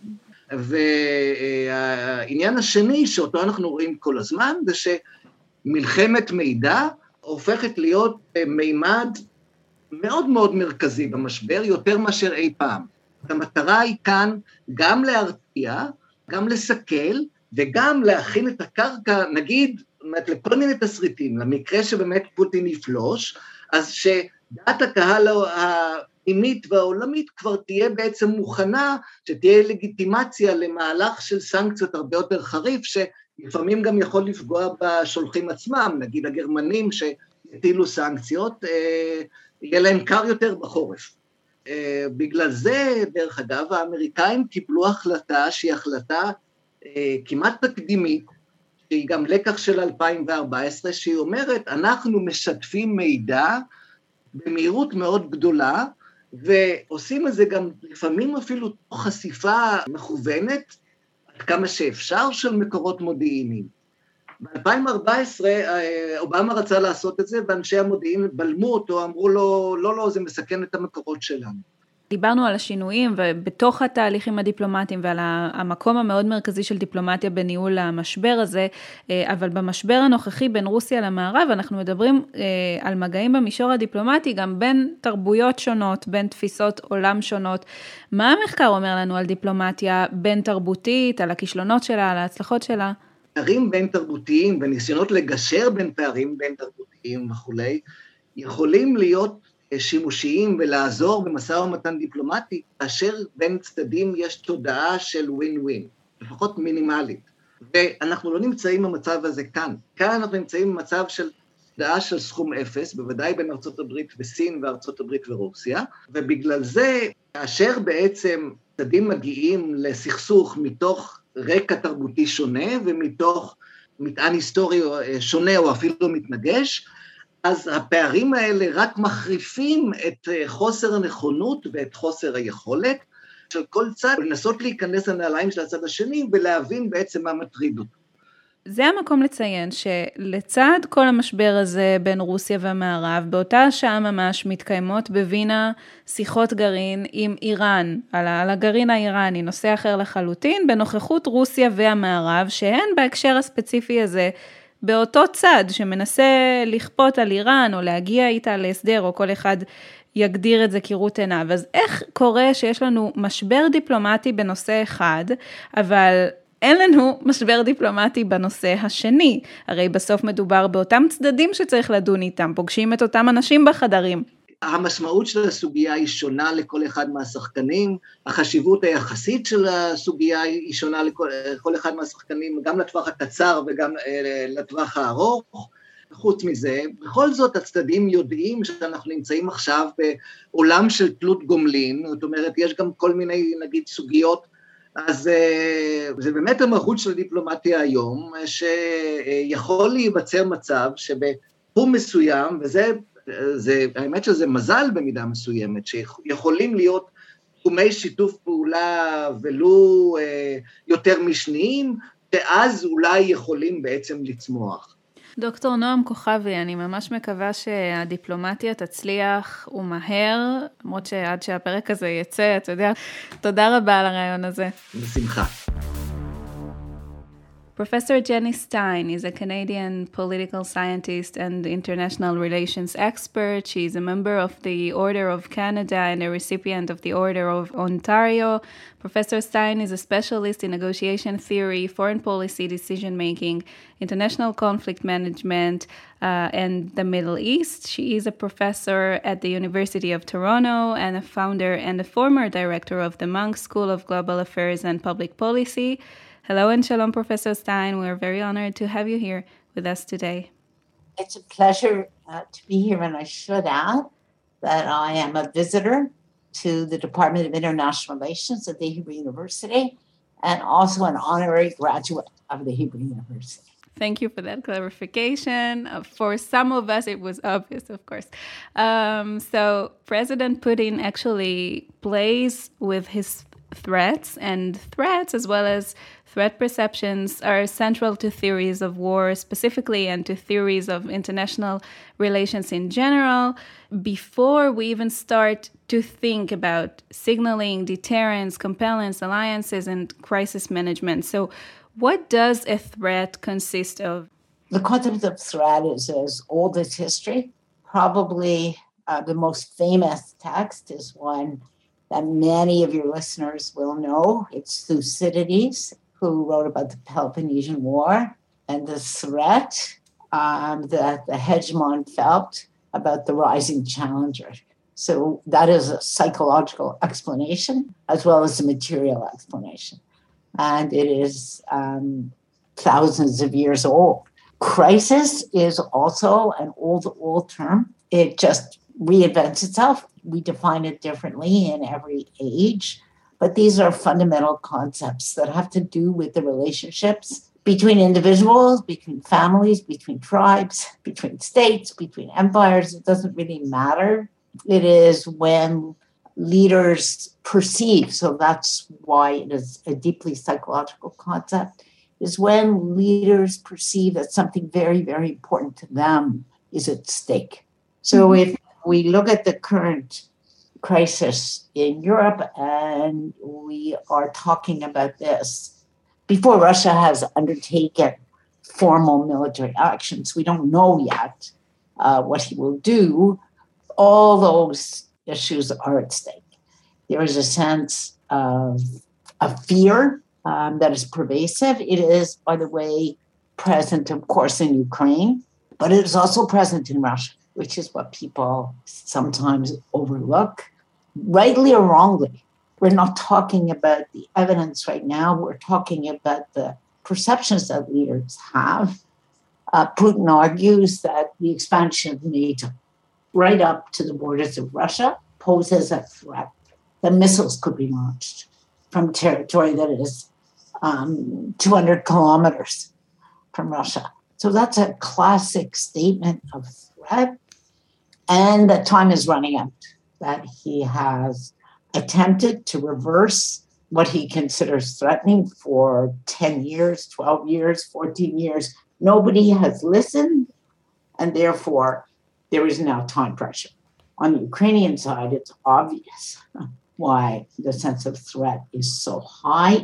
והעניין השני שאותו אנחנו רואים כל הזמן, זה שמלחמת מידע הופכת להיות מימד מאוד מאוד מרכזי במשבר, יותר מאשר אי פעם. המטרה היא כאן גם להרתיע, גם לסכל, וגם להכין את הקרקע, נגיד, לכל מיני תסריטים, למקרה שבאמת פוטין יפלוש, אז שדעת הקהל הפנימית והעולמית כבר תהיה בעצם מוכנה, שתהיה לגיטימציה למהלך של סנקציות הרבה יותר חריף, שלפעמים גם יכול לפגוע בשולחים עצמם, נגיד הגרמנים שהטילו סנקציות, יהיה להם קר יותר בחורף. בגלל זה, דרך אגב, האמריקאים קיבלו החלטה שהיא החלטה כמעט תקדימית, שהיא גם לקח של אלפיים וארבע עשרה, שהיא אומרת, אנחנו משתפים מידע במהירות מאוד גדולה, ועושים את זה גם לפעמים אפילו תוך חשיפה מכוונת, עד כמה שאפשר של מקורות מודיעיניים. ב-אלפיים וארבע עשרה אובמה רצה לעשות את זה, ואנשי המודיעין בלמו אותו, אמרו לו, לא, לא, זה מסכן את המקורות שלנו. דיברנו על השינויים ובתוך התהליכים הדיפלומטיים ועל המקום המאוד מרכזי של דיפלומטיה בניהול המשבר הזה, אבל במשבר הנוכחי בין רוסיה למערב, אנחנו מדברים על מגעים במישור הדיפלומטי, גם בין תרבויות שונות, בין תפיסות עולם שונות. מה המחקר אומר לנו על דיפלומטיה בין תרבותית, על הכישלונות שלה, על ההצלחות שלה? פערים בין תרבותיים וניסיונות לגשר בין פערים בין תרבותיים וכולי, יכולים להיות שימושיים ולעזור במשא ומתן דיפלומטי, כאשר בין צדדים יש תודעה של ווין ווין, לפחות מינימלית. ואנחנו לא נמצאים במצב הזה כאן. כאן אנחנו נמצאים במצב של תודעה של סכום אפס, בוודאי בין ארצות הברית וסין וארצות הברית ורוסיה, ובגלל זה, כאשר בעצם צדדים מגיעים לסכסוך מתוך רקע תרבותי שונה, ומתוך מטען היסטורי שונה או אפילו מתנגש, אז הפערים האלה רק מחריפים את חוסר הנכונות ואת חוסר היכולת של כל צד, לנסות להיכנס לנעליים של הצד השני ולהבין בעצם מה מטריד אותו. זה המקום לציין שלצד כל המשבר הזה בין רוסיה והמערב, באותה שעה ממש מתקיימות בווינה שיחות גרעין עם איראן, על הגרעין האיראני, נושא אחר לחלוטין, בנוכחות רוסיה והמערב, שהן בהקשר הספציפי הזה, באותו צד שמנסה לכפות על איראן או להגיע איתה להסדר, או כל אחד יגדיר את זה כראות עיניו. אז איך קורה שיש לנו משבר דיפלומטי בנושא אחד, אבל אין לנו משבר דיפלומטי בנושא השני? הרי בסוף מדובר באותם צדדים שצריך לדון איתם, פוגשים את אותם אנשים בחדרים. המשמעות של הסוגיה היא שונה לכל אחד מהשחקנים, החשיבות היחסית של הסוגיה היא שונה לכל, לכל אחד מהשחקנים, גם לטווח הקצר וגם לטווח הארוך. חוץ מזה, בכל זאת הצדדים יודעים שאנחנו נמצאים עכשיו בעולם של תלות גומלין, זאת אומרת, יש גם כל מיני, נגיד, סוגיות, אז זה באמת המהות של הדיפלומטיה היום, שיכול להיווצר מצב שבתחום מסוים, וזה, זה, האמת שזה מזל במידה מסוימת, שיכולים להיות תחומי שיתוף פעולה ולו יותר משניים, ואז אולי יכולים בעצם לצמוח. דוקטור נועם כוכבי, אני ממש מקווה שהדיפלומטיה תצליח ומהר, למרות שעד שהפרק הזה יצא, אתה יודע, תודה רבה על הרעיון הזה. בשמחה. Professor Jenny Stein is a Canadian political scientist and international relations expert. She is a member of the Order of Canada and a recipient of the Order of Ontario. Professor Stein is a specialist in negotiation theory, foreign policy decision-making, international conflict management, uh, and the Middle East. She is a professor at the University of Toronto and a founder and a former director of the Munk School of Global Affairs and Public Policy. Hello and shalom, Professor Stein. We're very honored to have you here with us today. It's a pleasure uh, to be here, and I should add that I am a visitor to the Department of International Relations at the Hebrew University and also an honorary graduate of the Hebrew University. Thank you for that clarification. Uh, for some of us, it was obvious, of course. Um, so President Putin actually plays with his threats, and threats as well as threat perceptions are central to theories of war specifically and to theories of international relations in general. Before we even start to think about signaling, deterrence, compellence, alliances, and crisis management. So what does a threat consist of? The concept of threat is as old as history. Probably uh, the most famous text is one that many of your listeners will know. It's Thucydides, who wrote about the Peloponnesian War and the threat um, that the hegemon felt about the rising challenger. So that is a psychological explanation as well as a material explanation. And it is um, thousands of years old. Crisis is also an old, old term. It just reinvents itself. We define it differently in every age, but these are fundamental concepts that have to do with the relationships between individuals, between families, between tribes, between states, between empires. It doesn't really matter. It is when leaders perceive, so that's why it is a deeply psychological concept, is when leaders perceive that something very, very important to them is at stake. So mm-hmm. if we look at the current crisis in Europe, and we are talking about this before Russia has undertaken formal military actions. We don't know yet uh, what he will do. All those issues are at stake. There is a sense of, of fear um, that is pervasive. It is, by the way, present, of course, in Ukraine, but it is also present in Russia, which is what people sometimes overlook, rightly or wrongly. We're not talking about the evidence right now. We're talking about the perceptions that leaders have. Uh, Putin argues that the expansion of NATO right up to the borders of Russia poses a threat. The missiles could be launched from territory that is um, two hundred kilometers from Russia. So that's a classic statement of threat. And that time is running out, that he has attempted to reverse what he considers threatening for ten years, twelve years, fourteen years. Nobody has listened, and therefore there is now time pressure. On the Ukrainian side, it's obvious why the sense of threat is so high.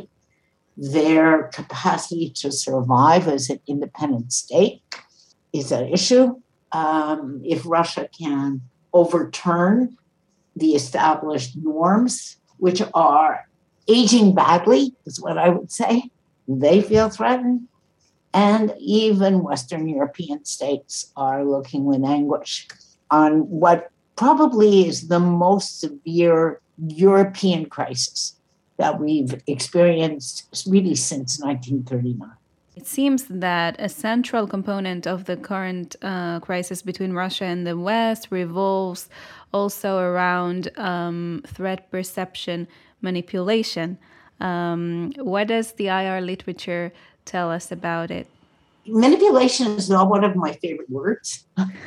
Their capacity to survive as an independent state is at issue. Um, if Russia can overturn the established norms, which are aging badly, is what I would say, they feel threatened. And even Western European states are looking with anguish on what probably is the most severe European crisis that we've experienced really since nineteen thirty-nine. It seems that a central component of the current uh, crisis between Russia and the West revolves also around um, threat perception manipulation. Um, what does the I R literature tell us about it? Manipulation is not one of my favorite words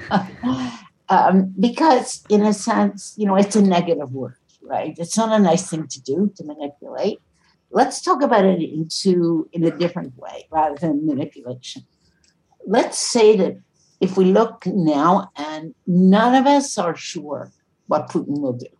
um, because, in a sense, you know, it's a negative word, right? It's not a nice thing to do, to manipulate. Let's talk about it into in a different way rather than manipulation. let's say that if we look now and none of us are sure what Putin will do.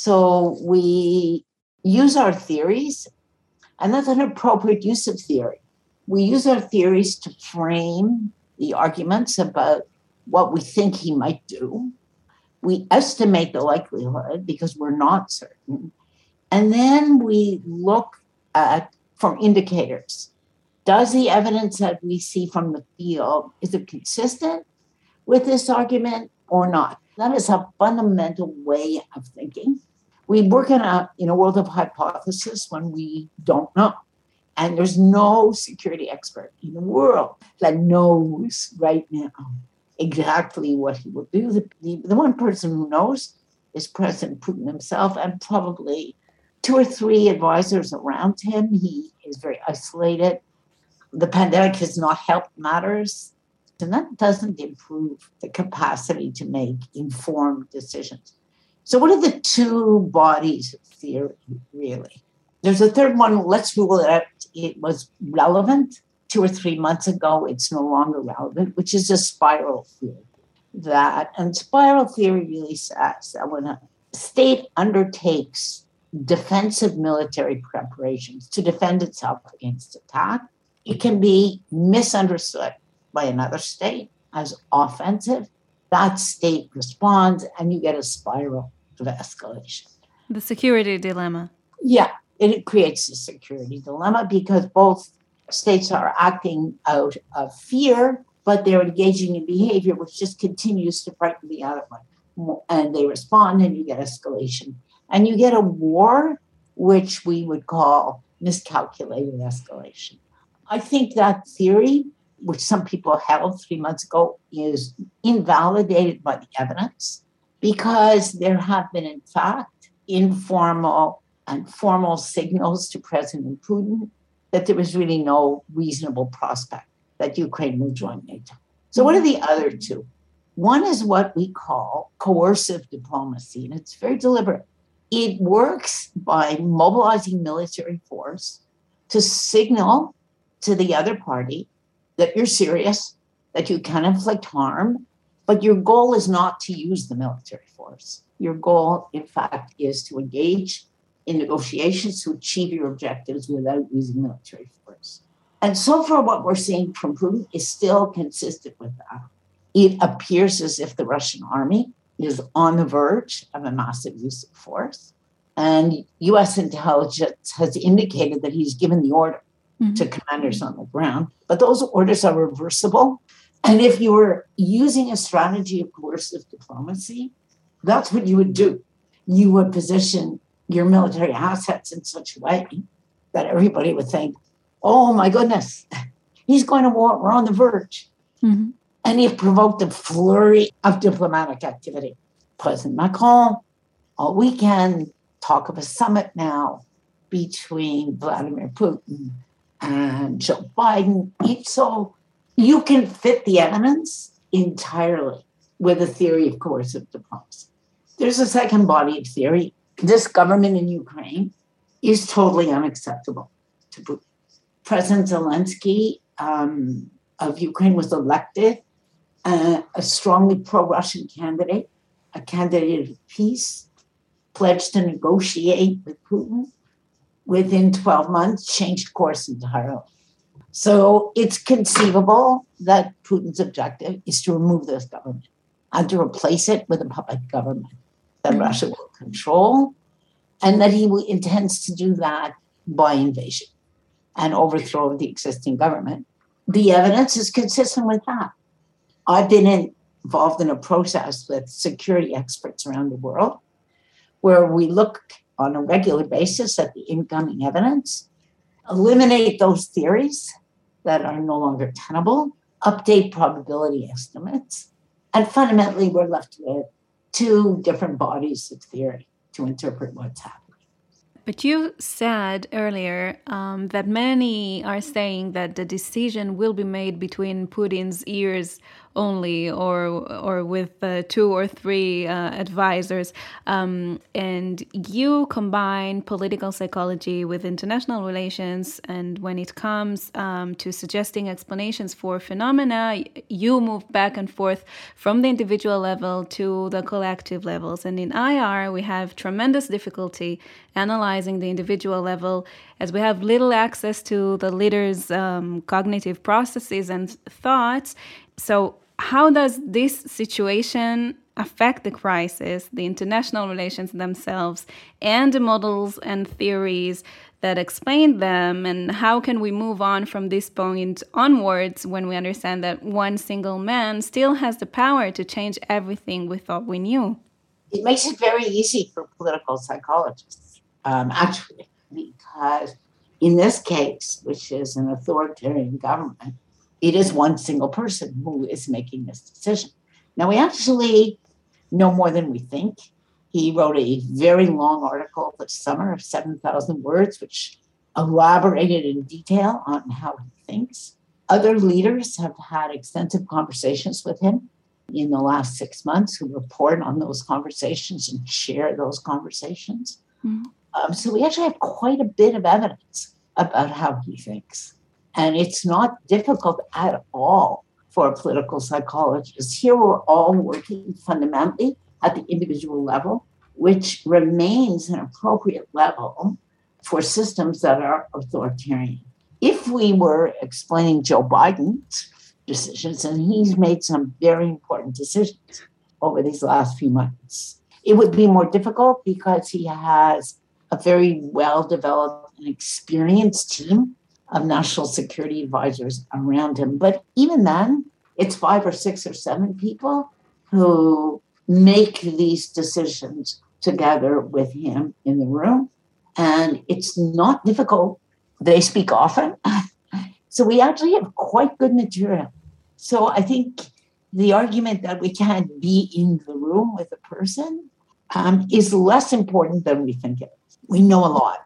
So we use our theories, and that's an appropriate use of theory. We use our theories to frame the arguments about what we think he might do. We estimate the likelihood because we're not certain. And then we look at, from indicators, does the evidence that we see from the field, is it consistent with this argument or not? That is a fundamental way of thinking. We work in a, in a world of hypothesis when we don't know. And there's no security expert in the world that knows right now exactly what he will do. The, the, the one person who knows is President Putin himself and probably two or three advisors around him. He is very isolated. The pandemic has not helped matters, and that doesn't improve the capacity to make informed decisions. So what are the two bodies of theory, really? There's a third one. Let's rule it out. It was relevant two or three months ago. It's no longer relevant, which is a spiral theory. That, and spiral theory really says that when a state undertakes defensive military preparations to defend itself against attack, it can be misunderstood by another state as offensive. That state responds, and you get a spiral of escalation. The security dilemma. Yeah, it creates a security dilemma because both states are acting out of fear, but they're engaging in behavior which just continues to frighten the other one. And they respond, and you get escalation. And you get a war, which we would call miscalculated escalation. I think that theory, which some people held three months ago, is invalidated by the evidence because there have been, in fact, informal and formal signals to President Putin that there was really no reasonable prospect that Ukraine will join NATO. So what are the other two? One is what we call coercive diplomacy, and it's very deliberate. It works by mobilizing military force to signal to the other party that you're serious, that you can inflict harm, but your goal is not to use the military force. Your goal, in fact, is to engage in negotiations to achieve your objectives without using military force. And so far, what we're seeing from Putin is still consistent with that. It appears as if the Russian army is on the verge of a massive use of force. And U S intelligence has indicated that he's given the order mm-hmm. to commanders on the ground. But those orders are reversible. And if you were using a strategy of coercive diplomacy, that's what you would do. You would position your military assets in such a way that everybody would think, oh my goodness, he's going to war, we're on the verge. Mm-hmm. And he provoked a flurry of diplomatic activity. President Macron, all weekend, talk of a summit now between Vladimir Putin and Joe Biden. So you can fit the evidence entirely with a theory of coercive diplomacy. There's a second body of theory. This government in Ukraine is totally unacceptable to Putin. President Zelensky um, of Ukraine was elected uh, a strongly pro-Russian candidate, a candidate of peace, pledged to negotiate with Putin. Within twelve months, changed course entirely. So it's conceivable that Putin's objective is to remove this government and to replace it with a puppet government that mm-hmm. Russia will control, and that he intends to do that by invasion and overthrow of the existing government. The evidence is consistent with that. I've been in, involved in a process with security experts around the world where we look on a regular basis at the incoming evidence, eliminate those theories that are no longer tenable, update probability estimates, and fundamentally we're left with two different bodies of theory to interpret what's happening. But you said earlier um, that many are saying that the decision will be made between Putin's ears only, or or with uh, two or three uh, advisors. Um, and you combine political psychology with international relations, and when it comes um, to suggesting explanations for phenomena, you move back and forth from the individual level to the collective levels. And in I R, we have tremendous difficulty analyzing the individual level, as we have little access to the leader's um, cognitive processes and thoughts. So how does this situation affect the crisis, the international relations themselves, and the models and theories that explain them? And how can we move on from this point onwards when we understand that one single man still has the power to change everything we thought we knew? It makes it very easy for political psychologists, um, actually, because in this case, which is an authoritarian government, it is one single person who is making this decision. Now, we actually know more than we think. He wrote a very long article this summer of seven thousand words, which elaborated in detail on how he thinks. Other leaders have had extensive conversations with him in the last six months who report on those conversations and share those conversations. Mm-hmm. Um, so we actually have quite a bit of evidence about how he thinks. And it's not difficult at all for a political psychologist. Here we're all working fundamentally at the individual level, which remains an appropriate level for systems that are authoritarian. If we were explaining Joe Biden's decisions, and he's made some very important decisions over these last few months, it would be more difficult because he has a very well-developed and experienced team of national security advisors around him. But even then, it's five or six or seven people who make these decisions together with him in the room. And it's not difficult. They speak often. So we actually have quite good material. So I think the argument that we can't be in the room with a person um, is less important than we think it is. We know a lot.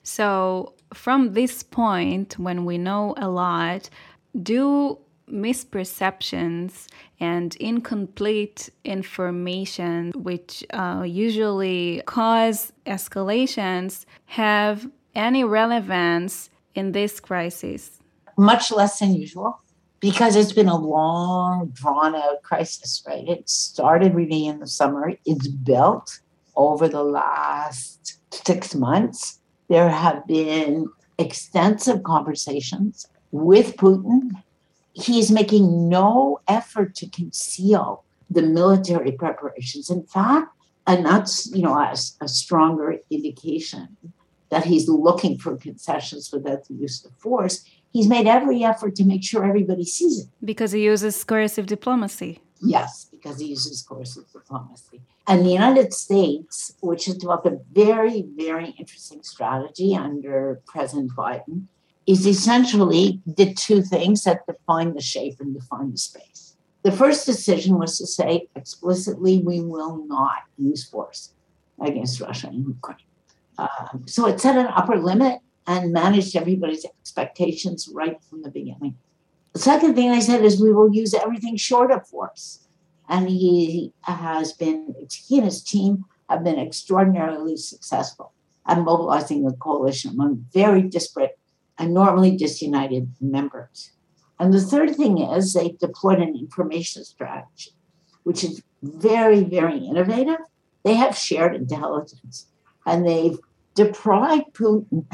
So from this point, when we know a lot, do misperceptions and incomplete information, which uh, usually cause escalations, have any relevance in this crisis? Much less than usual, because it's been a long, drawn-out crisis, right? It started really in the summer. It's built over the last six months. There have been extensive conversations with Putin. He's making no effort to conceal the military preparations. In fact, and that's, you know, a, a stronger indication that he's looking for concessions without the use of force. He's made every effort to make sure everybody sees it. Because he uses coercive diplomacy. Yes, because he uses coercive diplomacy. And the United States, which has developed a very, very interesting strategy under President Biden, is essentially did two things that define the shape and define the space. The first decision was to say explicitly, we will not use force against Russia and Ukraine. Um, so it set an upper limit and managed everybody's expectations right from the beginning. The second thing I said is we will use everything short of force. And he has been, he and his team have been extraordinarily successful at mobilizing the coalition among very disparate and normally disunited members. And the third thing is they deployed an information strategy, which is very, very innovative. They have shared intelligence, and they've deprived Putin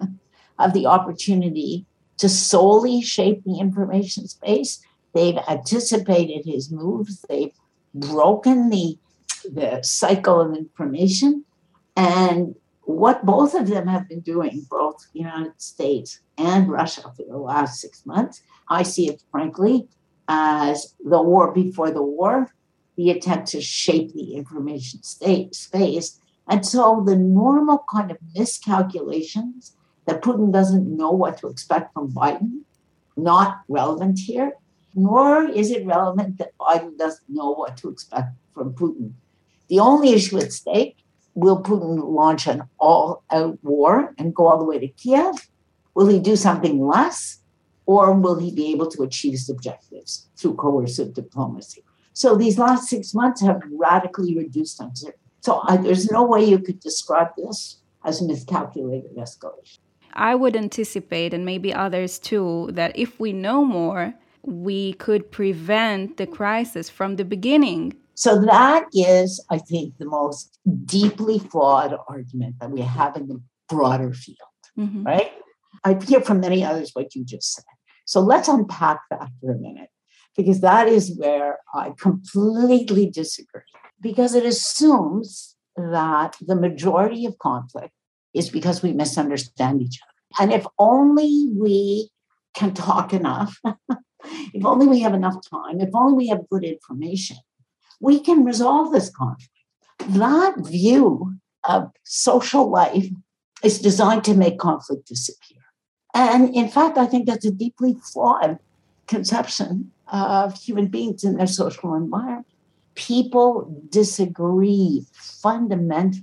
of the opportunity to solely shape the information space. They've anticipated his moves. They've broken the, the cycle of information. And what both of them have been doing, both the United States and Russia for the last six months, I see it, frankly, as the war before the war, the attempt to shape the information state, space. And so the normal kind of miscalculations that Putin doesn't know what to expect from Biden, not relevant here, nor is it relevant that Biden doesn't know what to expect from Putin. The only issue at stake, will Putin launch an all-out war and go all the way to Kiev? Will he do something less? or will he be able to achieve his objectives through coercive diplomacy? So these last six months have radically reduced uncertainty. So I, there's no way you could describe this as miscalculated escalation. I would anticipate, and maybe others too, that if we know more, we could prevent the crisis from the beginning. So that is, I think, the most deeply flawed argument that we have in the broader field, mm-hmm. right? I hear from many others what you just said. So let's unpack that for a minute, because that is where I completely disagree, because it assumes that the majority of conflict is because we misunderstand each other. And if only we can talk enough, if only we have enough time, if only we have good information, we can resolve this conflict. That view of social life is designed to make conflict disappear. And in fact, I think that's a deeply flawed conception of human beings in their social environment. People disagree fundamentally.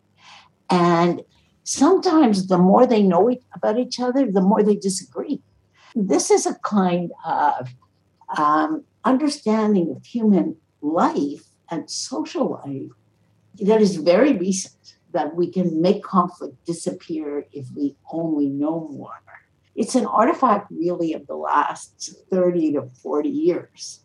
And sometimes the more they know about each other, the more they disagree. This is a kind of um, understanding of human life and social life that is very recent, that we can make conflict disappear if we only know more. It's an artifact really of the last thirty to forty years.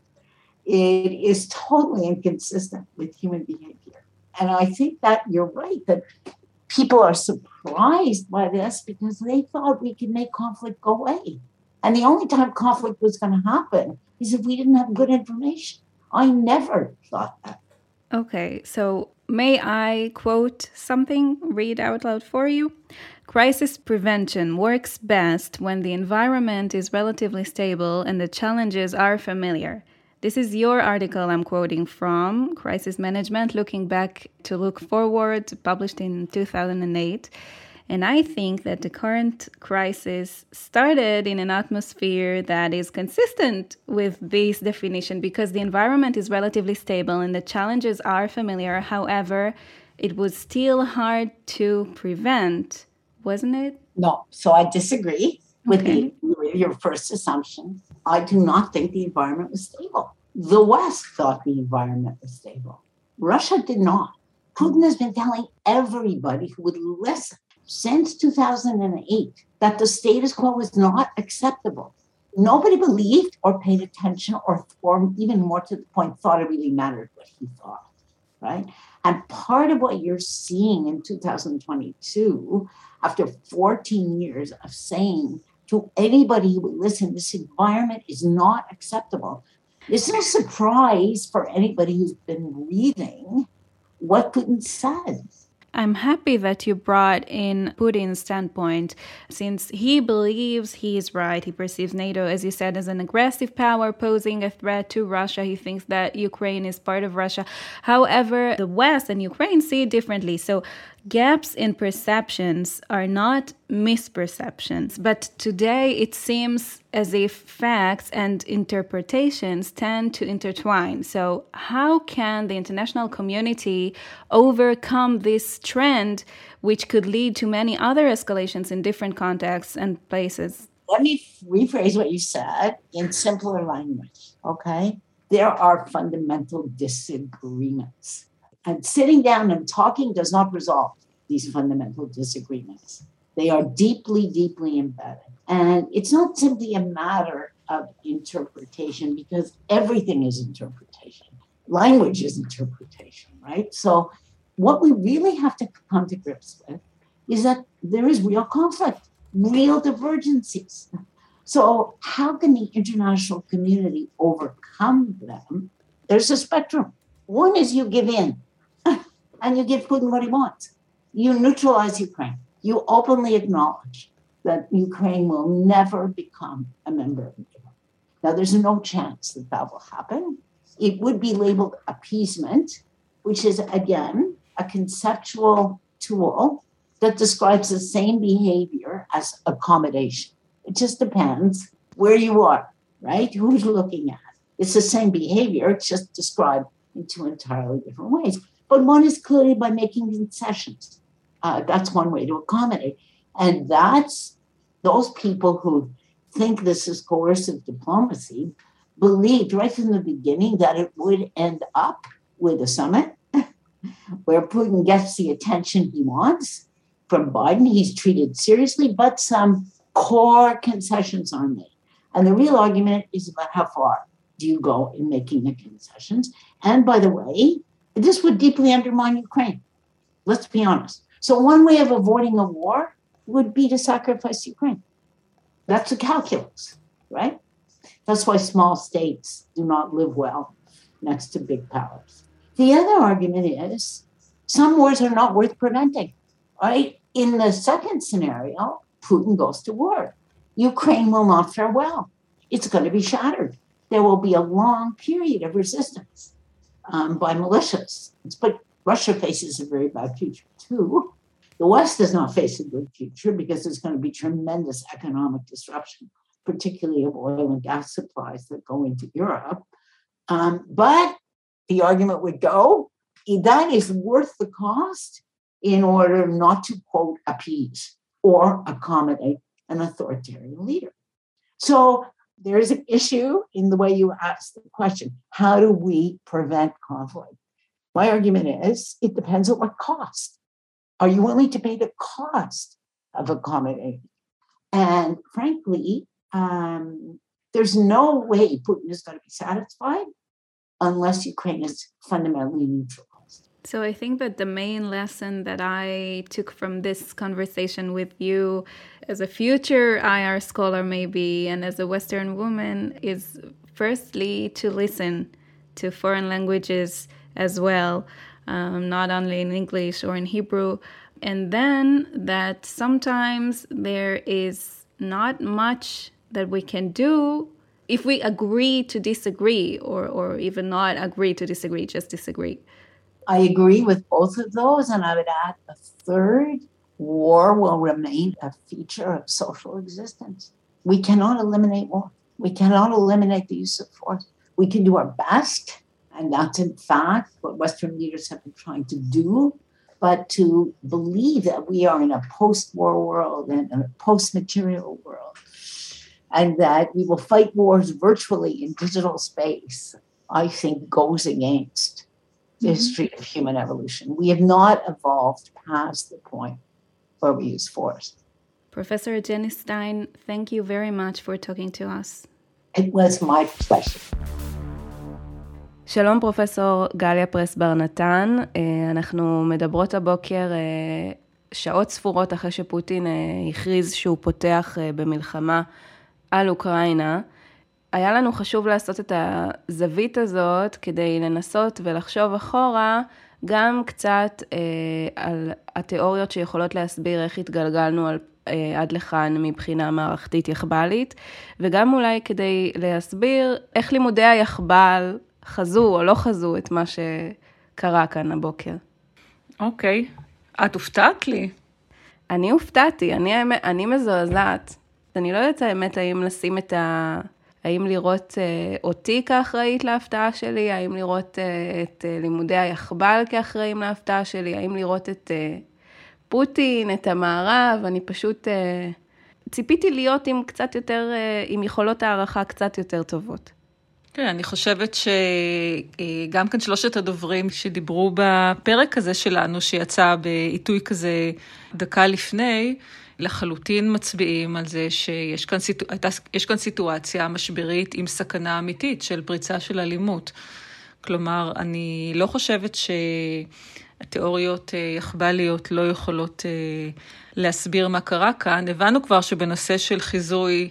It is totally inconsistent with human behavior. And I think that you're right, that people are surprised by this because they thought we could make conflict go away. And the only time conflict was going to happen is if we didn't have good information. I never thought that. Okay, so may I quote something, read out loud for you? Crisis prevention works best when the environment is relatively stable and the challenges are familiar. This is your article I'm quoting from, Crisis Management, Looking Back to Look Forward, published in two thousand eight. And I think that the current crisis started in an atmosphere that is consistent with this definition because the environment is relatively stable and the challenges are familiar. However, it was still hard to prevent, wasn't it? No, so I disagree with, okay. the, with your first assumption. I do not think the environment was stable. The West thought the environment was stable. Russia did not. Putin has been telling everybody who would listen since two thousand eight that the status quo was not acceptable. Nobody believed or paid attention or, or even more to the point, thought it really mattered what he thought, right? And part of what you're seeing in two thousand twenty-two, after fourteen years of saying to anybody who would listen, this environment is not acceptable. It's no surprise for anybody who's been reading what Putin said. I'm happy that you brought in Putin's standpoint, since he believes he is right. He perceives NATO, as you said, as an aggressive power posing a threat to Russia. He thinks that Ukraine is part of Russia. However, the West and Ukraine see it differently. So gaps in perceptions are not misperceptions, but today it seems as if facts and interpretations tend to intertwine. So how can the international community overcome this trend, which could lead to many other escalations in different contexts and places? Let me rephrase what you said in simpler language, okay? There are fundamental disagreements. And sitting down and talking does not resolve these fundamental disagreements. They are deeply, deeply embedded. And it's not simply a matter of interpretation, because everything is interpretation. Language is interpretation, right? So what we really have to come to grips with is that there is real conflict, real divergences. So how can the international community overcome them? There's a spectrum. One is you give in and you give Putin what he wants. You neutralize Ukraine. You openly acknowledge that Ukraine will never become a member of NATO. Now, there's no chance that that will happen. It would be labeled appeasement, which is, again, a conceptual tool that describes the same behavior as accommodation. It just depends where you are, right? Who's looking at it. It's the same behavior. It's just described in two entirely different ways. But one is clearly by making concessions. Uh, that's one way to accommodate. And that's those people who think this is coercive diplomacy, believed right from the beginning that it would end up with a summit where Putin gets the attention he wants from Biden. He's treated seriously, but some core concessions are made. And the real argument is about how far do you go in making the concessions. And by the way, this would deeply undermine Ukraine. Let's be honest. So one way of avoiding a war would be to sacrifice Ukraine. That's a calculus, right? That's why small states do not live well next to big powers. The other argument is some wars are not worth preventing, right? In the second scenario, Putin goes to war. Ukraine will not fare well. It's going to be shattered. There will be a long period of resistance um, by militias. But Russia faces a very bad future too. The West does not face a good future because there's going to be tremendous economic disruption, particularly of oil and gas supplies that go into Europe. Um, but the argument would go, that is worth the cost in order not to, quote, appease or accommodate an authoritarian leader. So there is an issue in the way you ask the question, how do we prevent conflict? My argument is, it depends on what cost. Are you willing to pay the cost of accommodating? And frankly, um, there's no way Putin is going to be satisfied unless Ukraine is fundamentally neutralized. So I think that the main lesson that I took from this conversation with you as a future I R scholar maybe, and as a Western woman, is firstly to listen to foreign languages as well, um, not only in English or in Hebrew, and then that sometimes there is not much that we can do if we agree to disagree, or, or even not agree to disagree, just disagree. I agree with both of those, and I would add a third. War will remain a feature of social existence. We cannot eliminate war. We cannot eliminate the use of force. We can do our best, and that's in fact what Western leaders have been trying to do, but to believe that we are in a post-war world and a post-material world, and that we will fight wars virtually in digital space, I think goes against the history of human evolution. We have not evolved past the point where we use force. Professor Jenny Stein, thank you very much for talking to us. It was my pleasure. שלום פרופסור גליה פרס בר נתן, אנחנו מדברות הבוקר שעות ספורות אחרי שפוטין הכריז שהוא פותח במלחמה על אוקראינה. היה לנו חשוב לעשות את הזווית הזאת כדי לנסות ולחשוב אחורה גם קצת אה, על התיאוריות שיכולות להסביר איך התגלגלנו על, אה, עד לכאן מבחינה מערכתית יחבלית, וגם אולי כדי להסביר איך לימודי היחבל חזו או לא חזו את מה שקרה כאן הבוקר. אוקיי, את הופתעת לי. אני הופתעתי, אני, אני מזועזעת. אני לא יודעת האמת האם לשים את ה... האם לראות אה, אותי כאחראית להפתעה שלי, האם לראות אה, את אה, לימודי היחבל כאחראים להפתעה שלי, האם לראות את אה, פוטין, את המערב, אני פשוט אה, ציפיתי להיות עם קצת יותר, אה, עם יכולות הערכה קצת יותר טובות. כן, אני חושבת שגם כאן שלושת הדוברים שדיברו בפרק הזה שלנו, שיצא בעיתוי כזה דקה לפני, לחלוטין מצביעים על זה שיש כאן, סיטו... יש כאן סיטואציה משברית עם סכנה אמיתית של פריצה של אלימות. כלומר, אני לא חושבת שהתיאוריות יחבליות לא יכולות להסביר מה קרה כאן. הבנו כבר שבנושא של חיזוי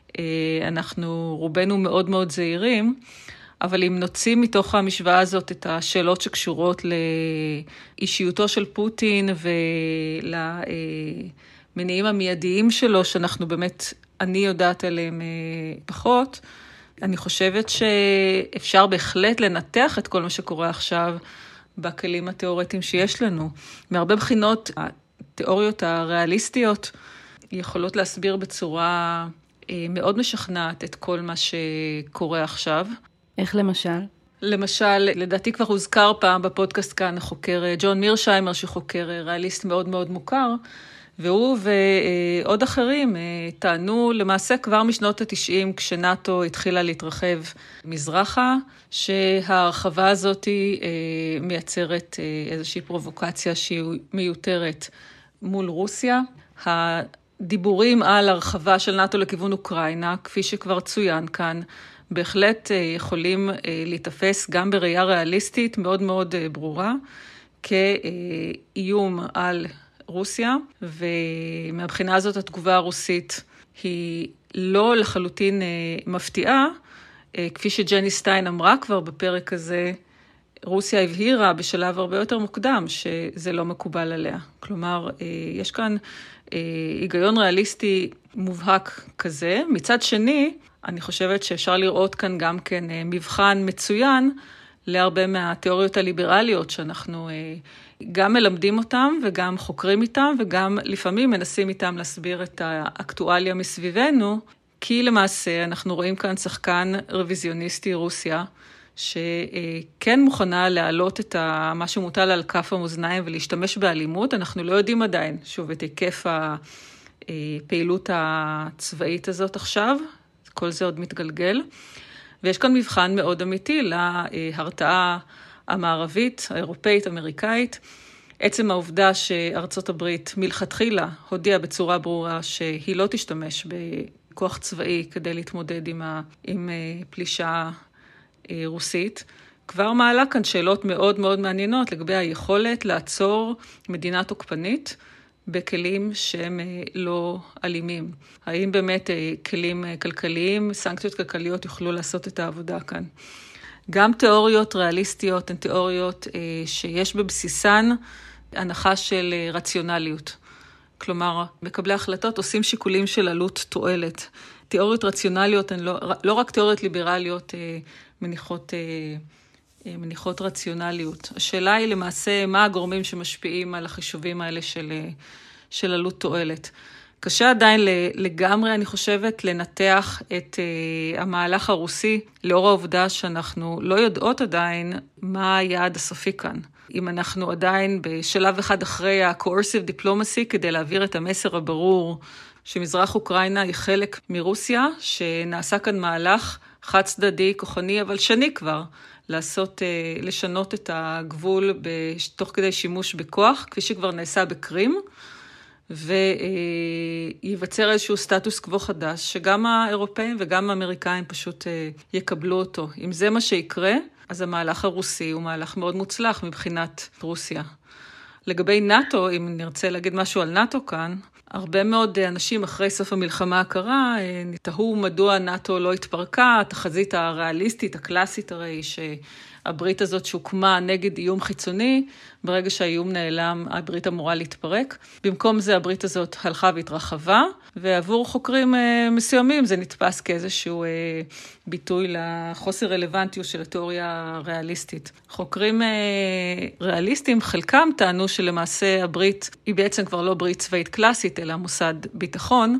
אנחנו רובנו מאוד מאוד זהירים, אבל אם נוציא מתוך המשוואה הזאת את השאלות שקשורות לאישיותו של פוטין ול... מניעים המיידיים שלו, שאנחנו באמת, אני יודעת עליהם פחות, אני חושבת שאפשר בהחלט לנתח את כל מה שקורה עכשיו בכלים התיאורטיים שיש לנו. מהרבה בחינות, התיאוריות הריאליסטיות יכולות להסביר בצורה מאוד משכנעת את כל מה שקורה עכשיו. איך למשל? למשל, לדעתי כבר הוזכר פעם בפודקאסט כאן, החוקר ג'ון מירשיימר, שחוקר ריאליסט מאוד מאוד מוכר, והוא ועוד אחרים טענו למעשה כבר משנות ה-תשעים, כשנאטו התחילה להתרחב מזרחה, שההרחבה הזאת מייצרת איזושהי פרובוקציה שהיא מיותרת מול רוסיה. הדיבורים על הרחבה של נאטו לכיוון אוקראינה, כפי שכבר צוין כאן, בהחלט יכולים להתאפס גם בראייה ריאליסטית מאוד מאוד ברורה, כאיום על רוסיה, ומהבחינה הזאת התגובה הרוסית היא לא לחלוטין מפתיעה, כפי שג'ני סטיין אמרה כבר בפרק הזה, רוסיה הבהירה בשלב הרבה יותר מוקדם שזה לא מקובל עליה. כלומר, יש כאן היגיון ריאליסטי מובהק כזה. מצד שני, אני חושבת שאפשר לראות כאן גם כן מבחן מצוין להרבה מהתיאוריות הליברליות שאנחנו גם מלמדים אותם וגם חוקרים איתם וגם לפעמים מנסים איתם להסביר את האקטואליה מסביבנו, כי למעשה אנחנו רואים כאן שחקן רוויזיוניסטי רוסיה, שכן מוכנה להעלות את מה שמוטל על כף המאזניים ולהשתמש באלימות. אנחנו לא יודעים עדיין, שוב, את היקף הפעילות הצבאית הזאת עכשיו, כל זה עוד מתגלגל. ויש כאן מבחן מאוד אמיתי להרתעה המערבית, האירופאית, אמריקאית. עצם העובדה שארצות הברית מלכתחילה הודיעה בצורה ברורה שהיא לא תשתמש בכוח צבאי כדי להתמודד עם, ה, עם פלישה רוסית, כבר מעלה כאן שאלות מאוד מאוד מעניינות לגבי היכולת לעצור מדינה תוקפנית בכלים שהם לא אלימים. האם באמת כלים כלכליים, סנקציות כלכליות יוכלו לעשות את העבודה כאן? גם תיאוריות ריאליסטיות הן תיאוריות שיש בבסיסן הנחה של רציונליות. כלומר, מקבלי החלטות עושים שיקולים של עלות תועלת. תיאוריות רציונליות הן לא, לא רק תיאוריות ליברליות מניחות, מניחות רציונליות. השאלה היא למעשה מה הגורמים שמשפיעים על החישובים האלה של, של עלות תועלת. קשה עדיין לגמרי, אני חושבת, לנתח את המהלך הרוסי, לאור העובדה שאנחנו לא יודעות עדיין מה היעד הסופי כאן. אם אנחנו עדיין בשלב אחד אחרי ה-coercive diplomacy, כדי להעביר את המסר הברור שמזרח אוקראינה היא חלק מרוסיה, שנעשה כאן מהלך חד צדדי, כוחני, אבל שני כבר, לעשות, לשנות את הגבול תוך כדי שימוש בכוח, כפי שכבר נעשה בקרים, וייווצר איזשהו סטטוס קוו חדש, שגם האירופאים וגם האמריקאים פשוט יקבלו אותו. אם זה מה שיקרה, אז המהלך הרוסי הוא מהלך מאוד מוצלח מבחינת רוסיה. לגבי נאטו, אם נרצה להגיד משהו על נאטו כאן, הרבה מאוד אנשים אחרי סוף המלחמה הקרה תהו מדוע נאטו לא התפרקה, התחזית הריאליסטית, הקלאסית הרי שהברית הזאת שהוקמה נגד איום חיצוני, ברגע שהאיום נעלם הברית אמורה להתפרק. במקום זה הברית הזאת הלכה והתרחבה, ועבור חוקרים מסוימים זה נתפס כאיזשהו ביטוי לחוסר רלוונטיות של התיאוריה הריאליסטית. חוקרים ריאליסטים חלקם טענו שלמעשה הברית היא בעצם כבר לא ברית צבאית קלאסית, אלא מוסד ביטחון,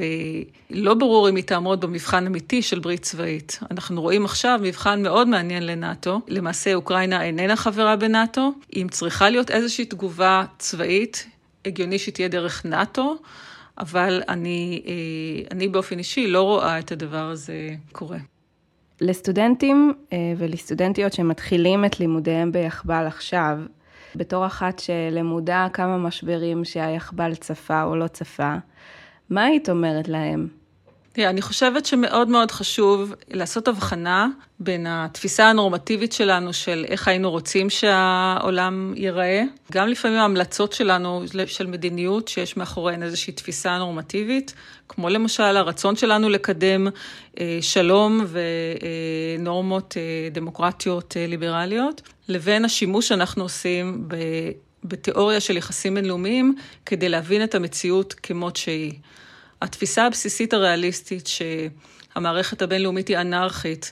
ולא ברור אם היא תעמוד במבחן אמיתי של ברית צבאית. אנחנו רואים עכשיו מבחן מאוד מעניין לנאטו. למעשה אוקראינה איננה חברה בנאטו, אם צריכה להיות איזושהי תגובה צבאית, הגיוני שתהיה דרך נאטו, אבל אני, אני באופן אישי לא רואה את הדבר הזה קורה. לסטודנטים ולסטודנטיות שמתחילים את לימודיהם ביחבל עכשיו, בתור אחת שלמודה כמה משברים שהיחבל צפה או לא צפה, מה היית אומרת להם? אני חושבת שמאוד מאוד חשוב לעשות הבחנה בין התפיסה הנורמטיבית שלנו של איך היינו רוצים שהעולם ייראה, גם לפעמים ההמלצות שלנו של מדיניות שיש מאחוריהן איזושהי תפיסה נורמטיבית, כמו למשל הרצון שלנו לקדם שלום ונורמות דמוקרטיות ליברליות, לבין השימוש שאנחנו עושים בתיאוריה של יחסים בינלאומיים כדי להבין את המציאות כמות שהיא. התפיסה הבסיסית הריאליסטית שהמערכת הבינלאומית היא אנרכית,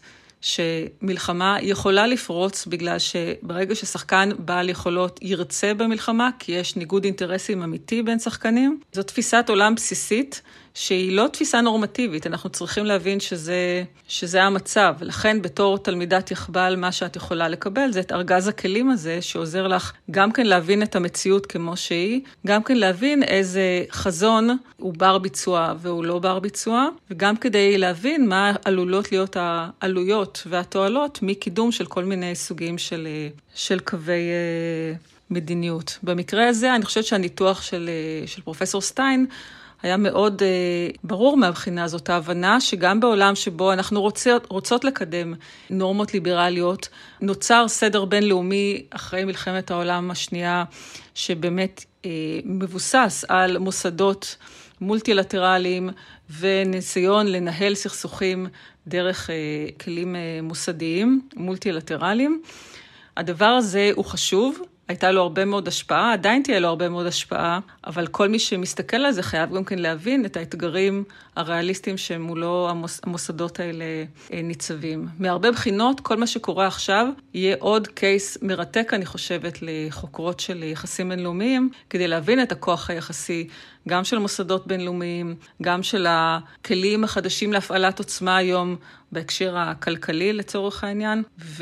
שמלחמה יכולה לפרוץ בגלל שברגע ששחקן בעל יכולות ירצה במלחמה, כי יש ניגוד אינטרסים אמיתי בין שחקנים, זו תפיסת עולם בסיסית שהיא לא תפיסה נורמטיבית, אנחנו צריכים להבין שזה, שזה המצב, לכן בתור תלמידת יחבל מה שאת יכולה לקבל זה את ארגז הכלים הזה שעוזר לך גם כן להבין את המציאות כמו שהיא, גם כן להבין איזה חזון הוא בר ביצוע והוא לא בר ביצוע, וגם כדי להבין מה עלולות להיות העלויות והתועלות מקידום של כל מיני סוגים של, של קווי מדיניות. במקרה הזה אני חושבת שהניתוח של, של פרופסור סטיין היה מאוד uh, ברור מהבחינה הזאת, ההבנה שגם בעולם שבו אנחנו רוצות, רוצות לקדם נורמות ליברליות, נוצר סדר בינלאומי אחרי מלחמת העולם השנייה, שבאמת uh, מבוסס על מוסדות מולטילטרליים, וניסיון לנהל סכסוכים דרך uh, כלים uh, מוסדיים, מולטילטרליים. הדבר הזה הוא חשוב, הייתה לו הרבה מאוד השפעה, עדיין תהיה לו הרבה מאוד השפעה, אבל כל מי שמסתכל על זה חייב גם כן להבין את האתגרים הריאליסטיים שמולו המוס, המוסדות האלה ניצבים. מהרבה בחינות, כל מה שקורה עכשיו יהיה עוד קייס מרתק, אני חושבת, לחוקרות של יחסים בינלאומיים, כדי להבין את הכוח היחסי, גם של מוסדות בינלאומיים, גם של הכלים החדשים להפעלת עוצמה היום, בהקשר הכלכלי לצורך העניין,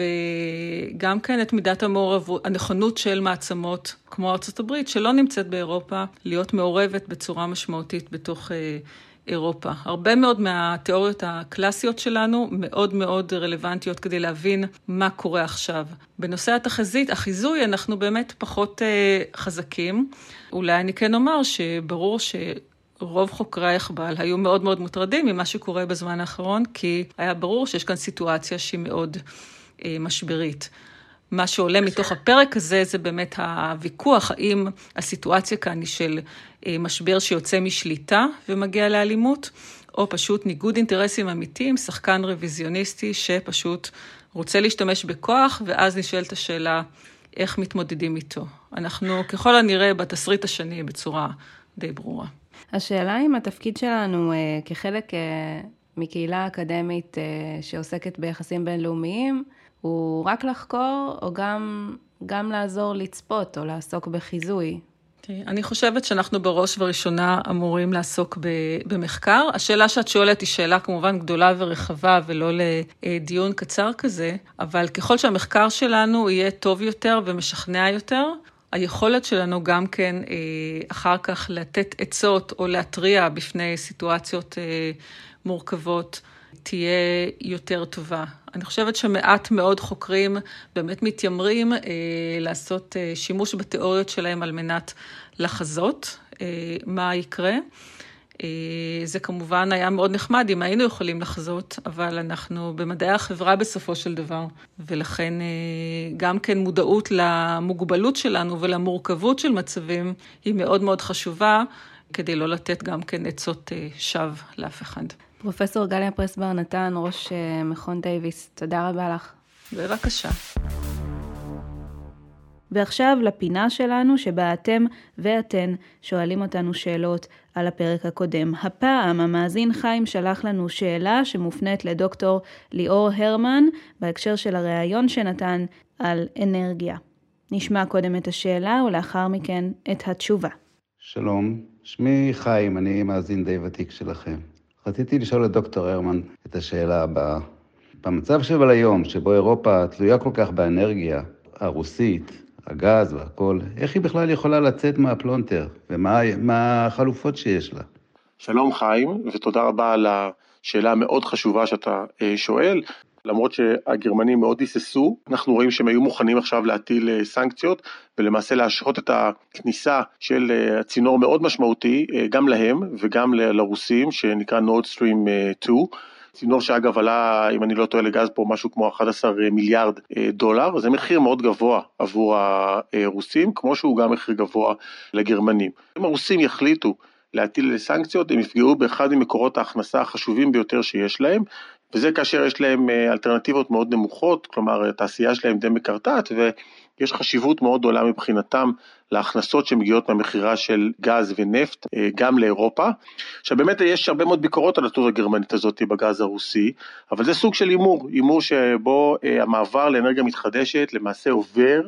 וגם כן את מידת המעורבות, הנכונות של מעצמות, כמו ארצות הברית, שלא נמצאת באירופה, להיות מעורבת בצורה משמעותית בתוך אירופה. הרבה מאוד מהתיאוריות הקלאסיות שלנו מאוד מאוד רלוונטיות כדי להבין מה קורה עכשיו. בנושא התחזית, החיזוי, אנחנו באמת פחות חזקים. אולי אני כן אומר שברור ש... רוב חוקרי היחבל היו מאוד מאוד מוטרדים ממה שקורה בזמן האחרון, כי היה ברור שיש כאן סיטואציה שהיא מאוד אה, משברית. מה שעולה מתוך הפרק הזה זה באמת הוויכוח, האם הסיטואציה כאן היא של אה, משבר שיוצא משליטה ומגיע לאלימות, או פשוט ניגוד אינטרסים אמיתיים, שחקן רוויזיוניסטי שפשוט רוצה להשתמש בכוח, ואז נשאלת השאלה איך מתמודדים איתו. אנחנו ככל הנראה בתסריט השני בצורה די ברורה. השאלה אם התפקיד שלנו אה, כחלק אה, מקהילה אקדמית אה, שעוסקת ביחסים בינלאומיים, הוא רק לחקור או גם, גם לעזור לצפות או לעסוק בחיזוי? אני חושבת שאנחנו בראש וראשונה אמורים לעסוק במחקר. השאלה שאת שואלת היא שאלה כמובן גדולה ורחבה ולא לדיון קצר כזה, אבל ככל שהמחקר שלנו יהיה טוב יותר ומשכנע יותר, היכולת שלנו גם כן אחר כך לתת עצות או להטריע בפני סיטואציות מורכבות תהיה יותר טובה. אני חושבת שמעט מאוד חוקרים באמת מתיימרים לעשות שימוש בתיאוריות שלהם על מנת לחזות מה יקרה. זה כמובן היה מאוד נחמד אם היינו יכולים לחזות, אבל אנחנו במדעי החברה בסופו של דבר, ולכן גם כן מודעות למוגבלות שלנו ולמורכבות של מצבים היא מאוד מאוד חשובה, כדי לא לתת גם כן עצות שווא לאף אחד. פרופסור גליה פרסבר נתן, ראש מכון דייוויס, תודה רבה לך. בבקשה. ועכשיו לפינה שלנו שבה אתם ואתן שואלים אותנו שאלות על הפרק הקודם. הפעם המאזין חיים שלח לנו שאלה שמופנית לדוקטור ליאור הרמן בהקשר של הראיון שנתן על אנרגיה. נשמע קודם את השאלה ולאחר מכן את התשובה. שלום, שמי חיים, אני מאזין די ותיק שלכם. רציתי לשאול את דוקטור הרמן את השאלה הבאה. במצב של היום, שבו אירופה תלויה כל כך באנרגיה הרוסית, הגז והכל, איך היא בכלל יכולה לצאת מהפלונטר, ומה מה החלופות שיש לה? שלום חיים, ותודה רבה על השאלה המאוד חשובה שאתה שואל. למרות שהגרמנים מאוד היססו, אנחנו רואים שהם היו מוכנים עכשיו להטיל סנקציות, ולמעשה להשהות את הכניסה של הצינור מאוד משמעותי, גם להם וגם לרוסים, שנקרא נורד סטרים שתיים, צינור שאגב עלה, אם אני לא טועה לגז פה, משהו כמו אחד עשר מיליארד דולר, זה מחיר מאוד גבוה עבור הרוסים, כמו שהוא גם מחיר גבוה לגרמנים. אם הרוסים יחליטו להטיל סנקציות, הם יפגעו באחד ממקורות ההכנסה החשובים ביותר שיש להם, וזה כאשר יש להם אלטרנטיבות מאוד נמוכות, כלומר התעשייה שלהם די מקרטעת, ויש חשיבות מאוד גדולה מבחינתם להכנסות שמגיעות מהמחירה של גז ונפט, גם לאירופה. עכשיו באמת יש הרבה מאוד ביקורות על התות הגרמנית הזאת בגז הרוסי, אבל זה סוג של אימור, אימור שבו המעבר לאנרגיה מתחדשת למעשה עובר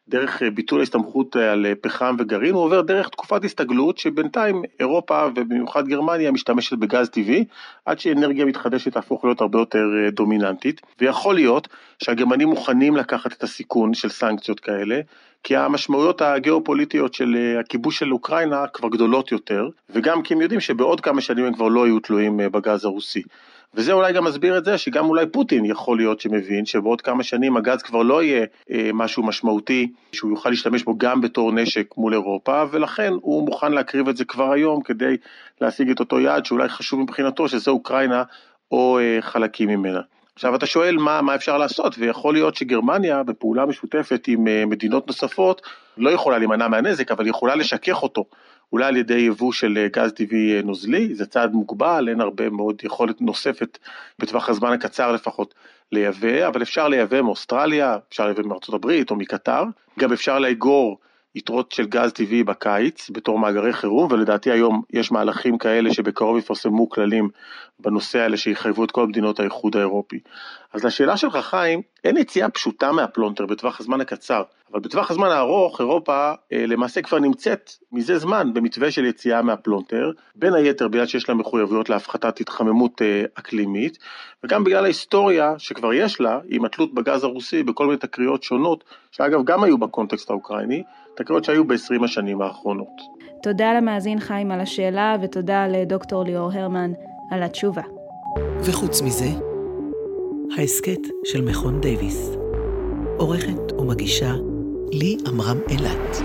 דרך ביטול ההסתמכות על פחם וגרעין, הוא עובר דרך תקופת הסתגלות שבינתיים אירופה ובמיוחד גרמניה משתמשת בגז טבעי, עד שאנרגיה מתחדשת תהפוך להיות הרבה יותר דומיננטית, ויכול להיות שהגרמנים מוכנים לקחת את הסיכון של סנקציות כאלה, כי המשמעויות הגיאופוליטיות של הכיבוש של אוקראינה כבר גדולות יותר, וגם כי הם יודעים שבעוד כמה שנים הם כבר לא יהיו תלויים בגז הרוסי. וזה אולי גם מסביר את זה, שגם אולי פוטין יכול להיות שמבין, שבעוד כמה שנים הגז כבר לא יהיה אה, משהו משמעותי, שהוא יוכל להשתמש בו גם בתור נשק מול אירופה, ולכן הוא מוכן להקריב את זה כבר היום, כדי להשיג את אותו יעד, שאולי חשוב מבחינתו, שזה אוקראינה או אה, חלקים ממנה. עכשיו אתה שואל מה, מה אפשר לעשות, ויכול להיות שגרמניה בפעולה משותפת עם אה, מדינות נוספות, לא יכולה להימנע מהנזק, אבל יכולה לשכך אותו. אולי על ידי יבוא של גז טבעי נוזלי, זה צעד מוגבל, אין הרבה מאוד יכולת נוספת בטווח הזמן הקצר לפחות לייבא, אבל אפשר לייבא מאוסטרליה, אפשר לייבא מארצות הברית או מקטר, גם אפשר לאגור יתרות של גז טבעי בקיץ בתור מאגרי חירום, ולדעתי היום יש מהלכים כאלה שבקרוב יפרסמו כללים בנושא האלה שיחייבו את כל מדינות האיחוד האירופי. אז לשאלה שלך חיים, אין יציאה פשוטה מהפלונטר בטווח הזמן הקצר, אבל בטווח הזמן הארוך אירופה אה, למעשה כבר נמצאת מזה זמן במתווה של יציאה מהפלונטר, בין היתר בגלל שיש לה מחויבויות להפחתת התחממות אה, אקלימית, וגם בגלל ההיסטוריה שכבר יש לה, עם התלות בגז הרוסי בכל מיני תקריות שונות, שאגב גם היו בקונטקסט האוקראיני, תקריות שהיו ב-עשרים השנים האחרונות. תודה למאזין חיים על השאלה, ותודה לדוקטור ליאור הרמן על התשובה. וחוץ מזה, ההסקט של מכון דייוויס. עורכת ומגישה לי עמרם אילת.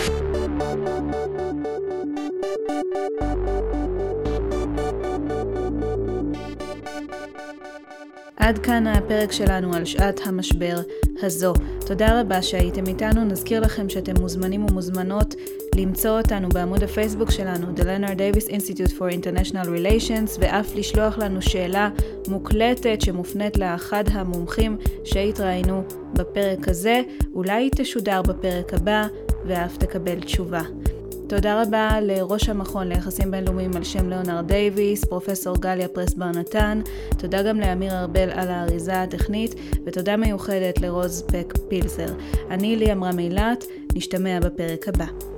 עד כאן הפרק שלנו על שעת המשבר הזו. תודה רבה שהייתם איתנו. נזכיר לכם שאתם מוזמנים ומוזמנות למצוא אותנו בעמוד הפייסבוק שלנו, The Leonard Davis Institute for International Relations, ואף לשלוח לנו שאלה מוקלטת שמופנית לאחד המומחים שהתראינו בפרק הזה. אולי היא תשודר בפרק הבא ואף תקבל תשובה. תודה רבה לראש המכון ליחסים בינלאומיים על שם ליאונרד דייוויס, פרופסור גליה פרס בר נתן. תודה גם לאמיר ארבל על האריזה הטכנית, ותודה מיוחדת לרוז פק פילזר. אני לי עמרם אילת, נשתמע בפרק הבא.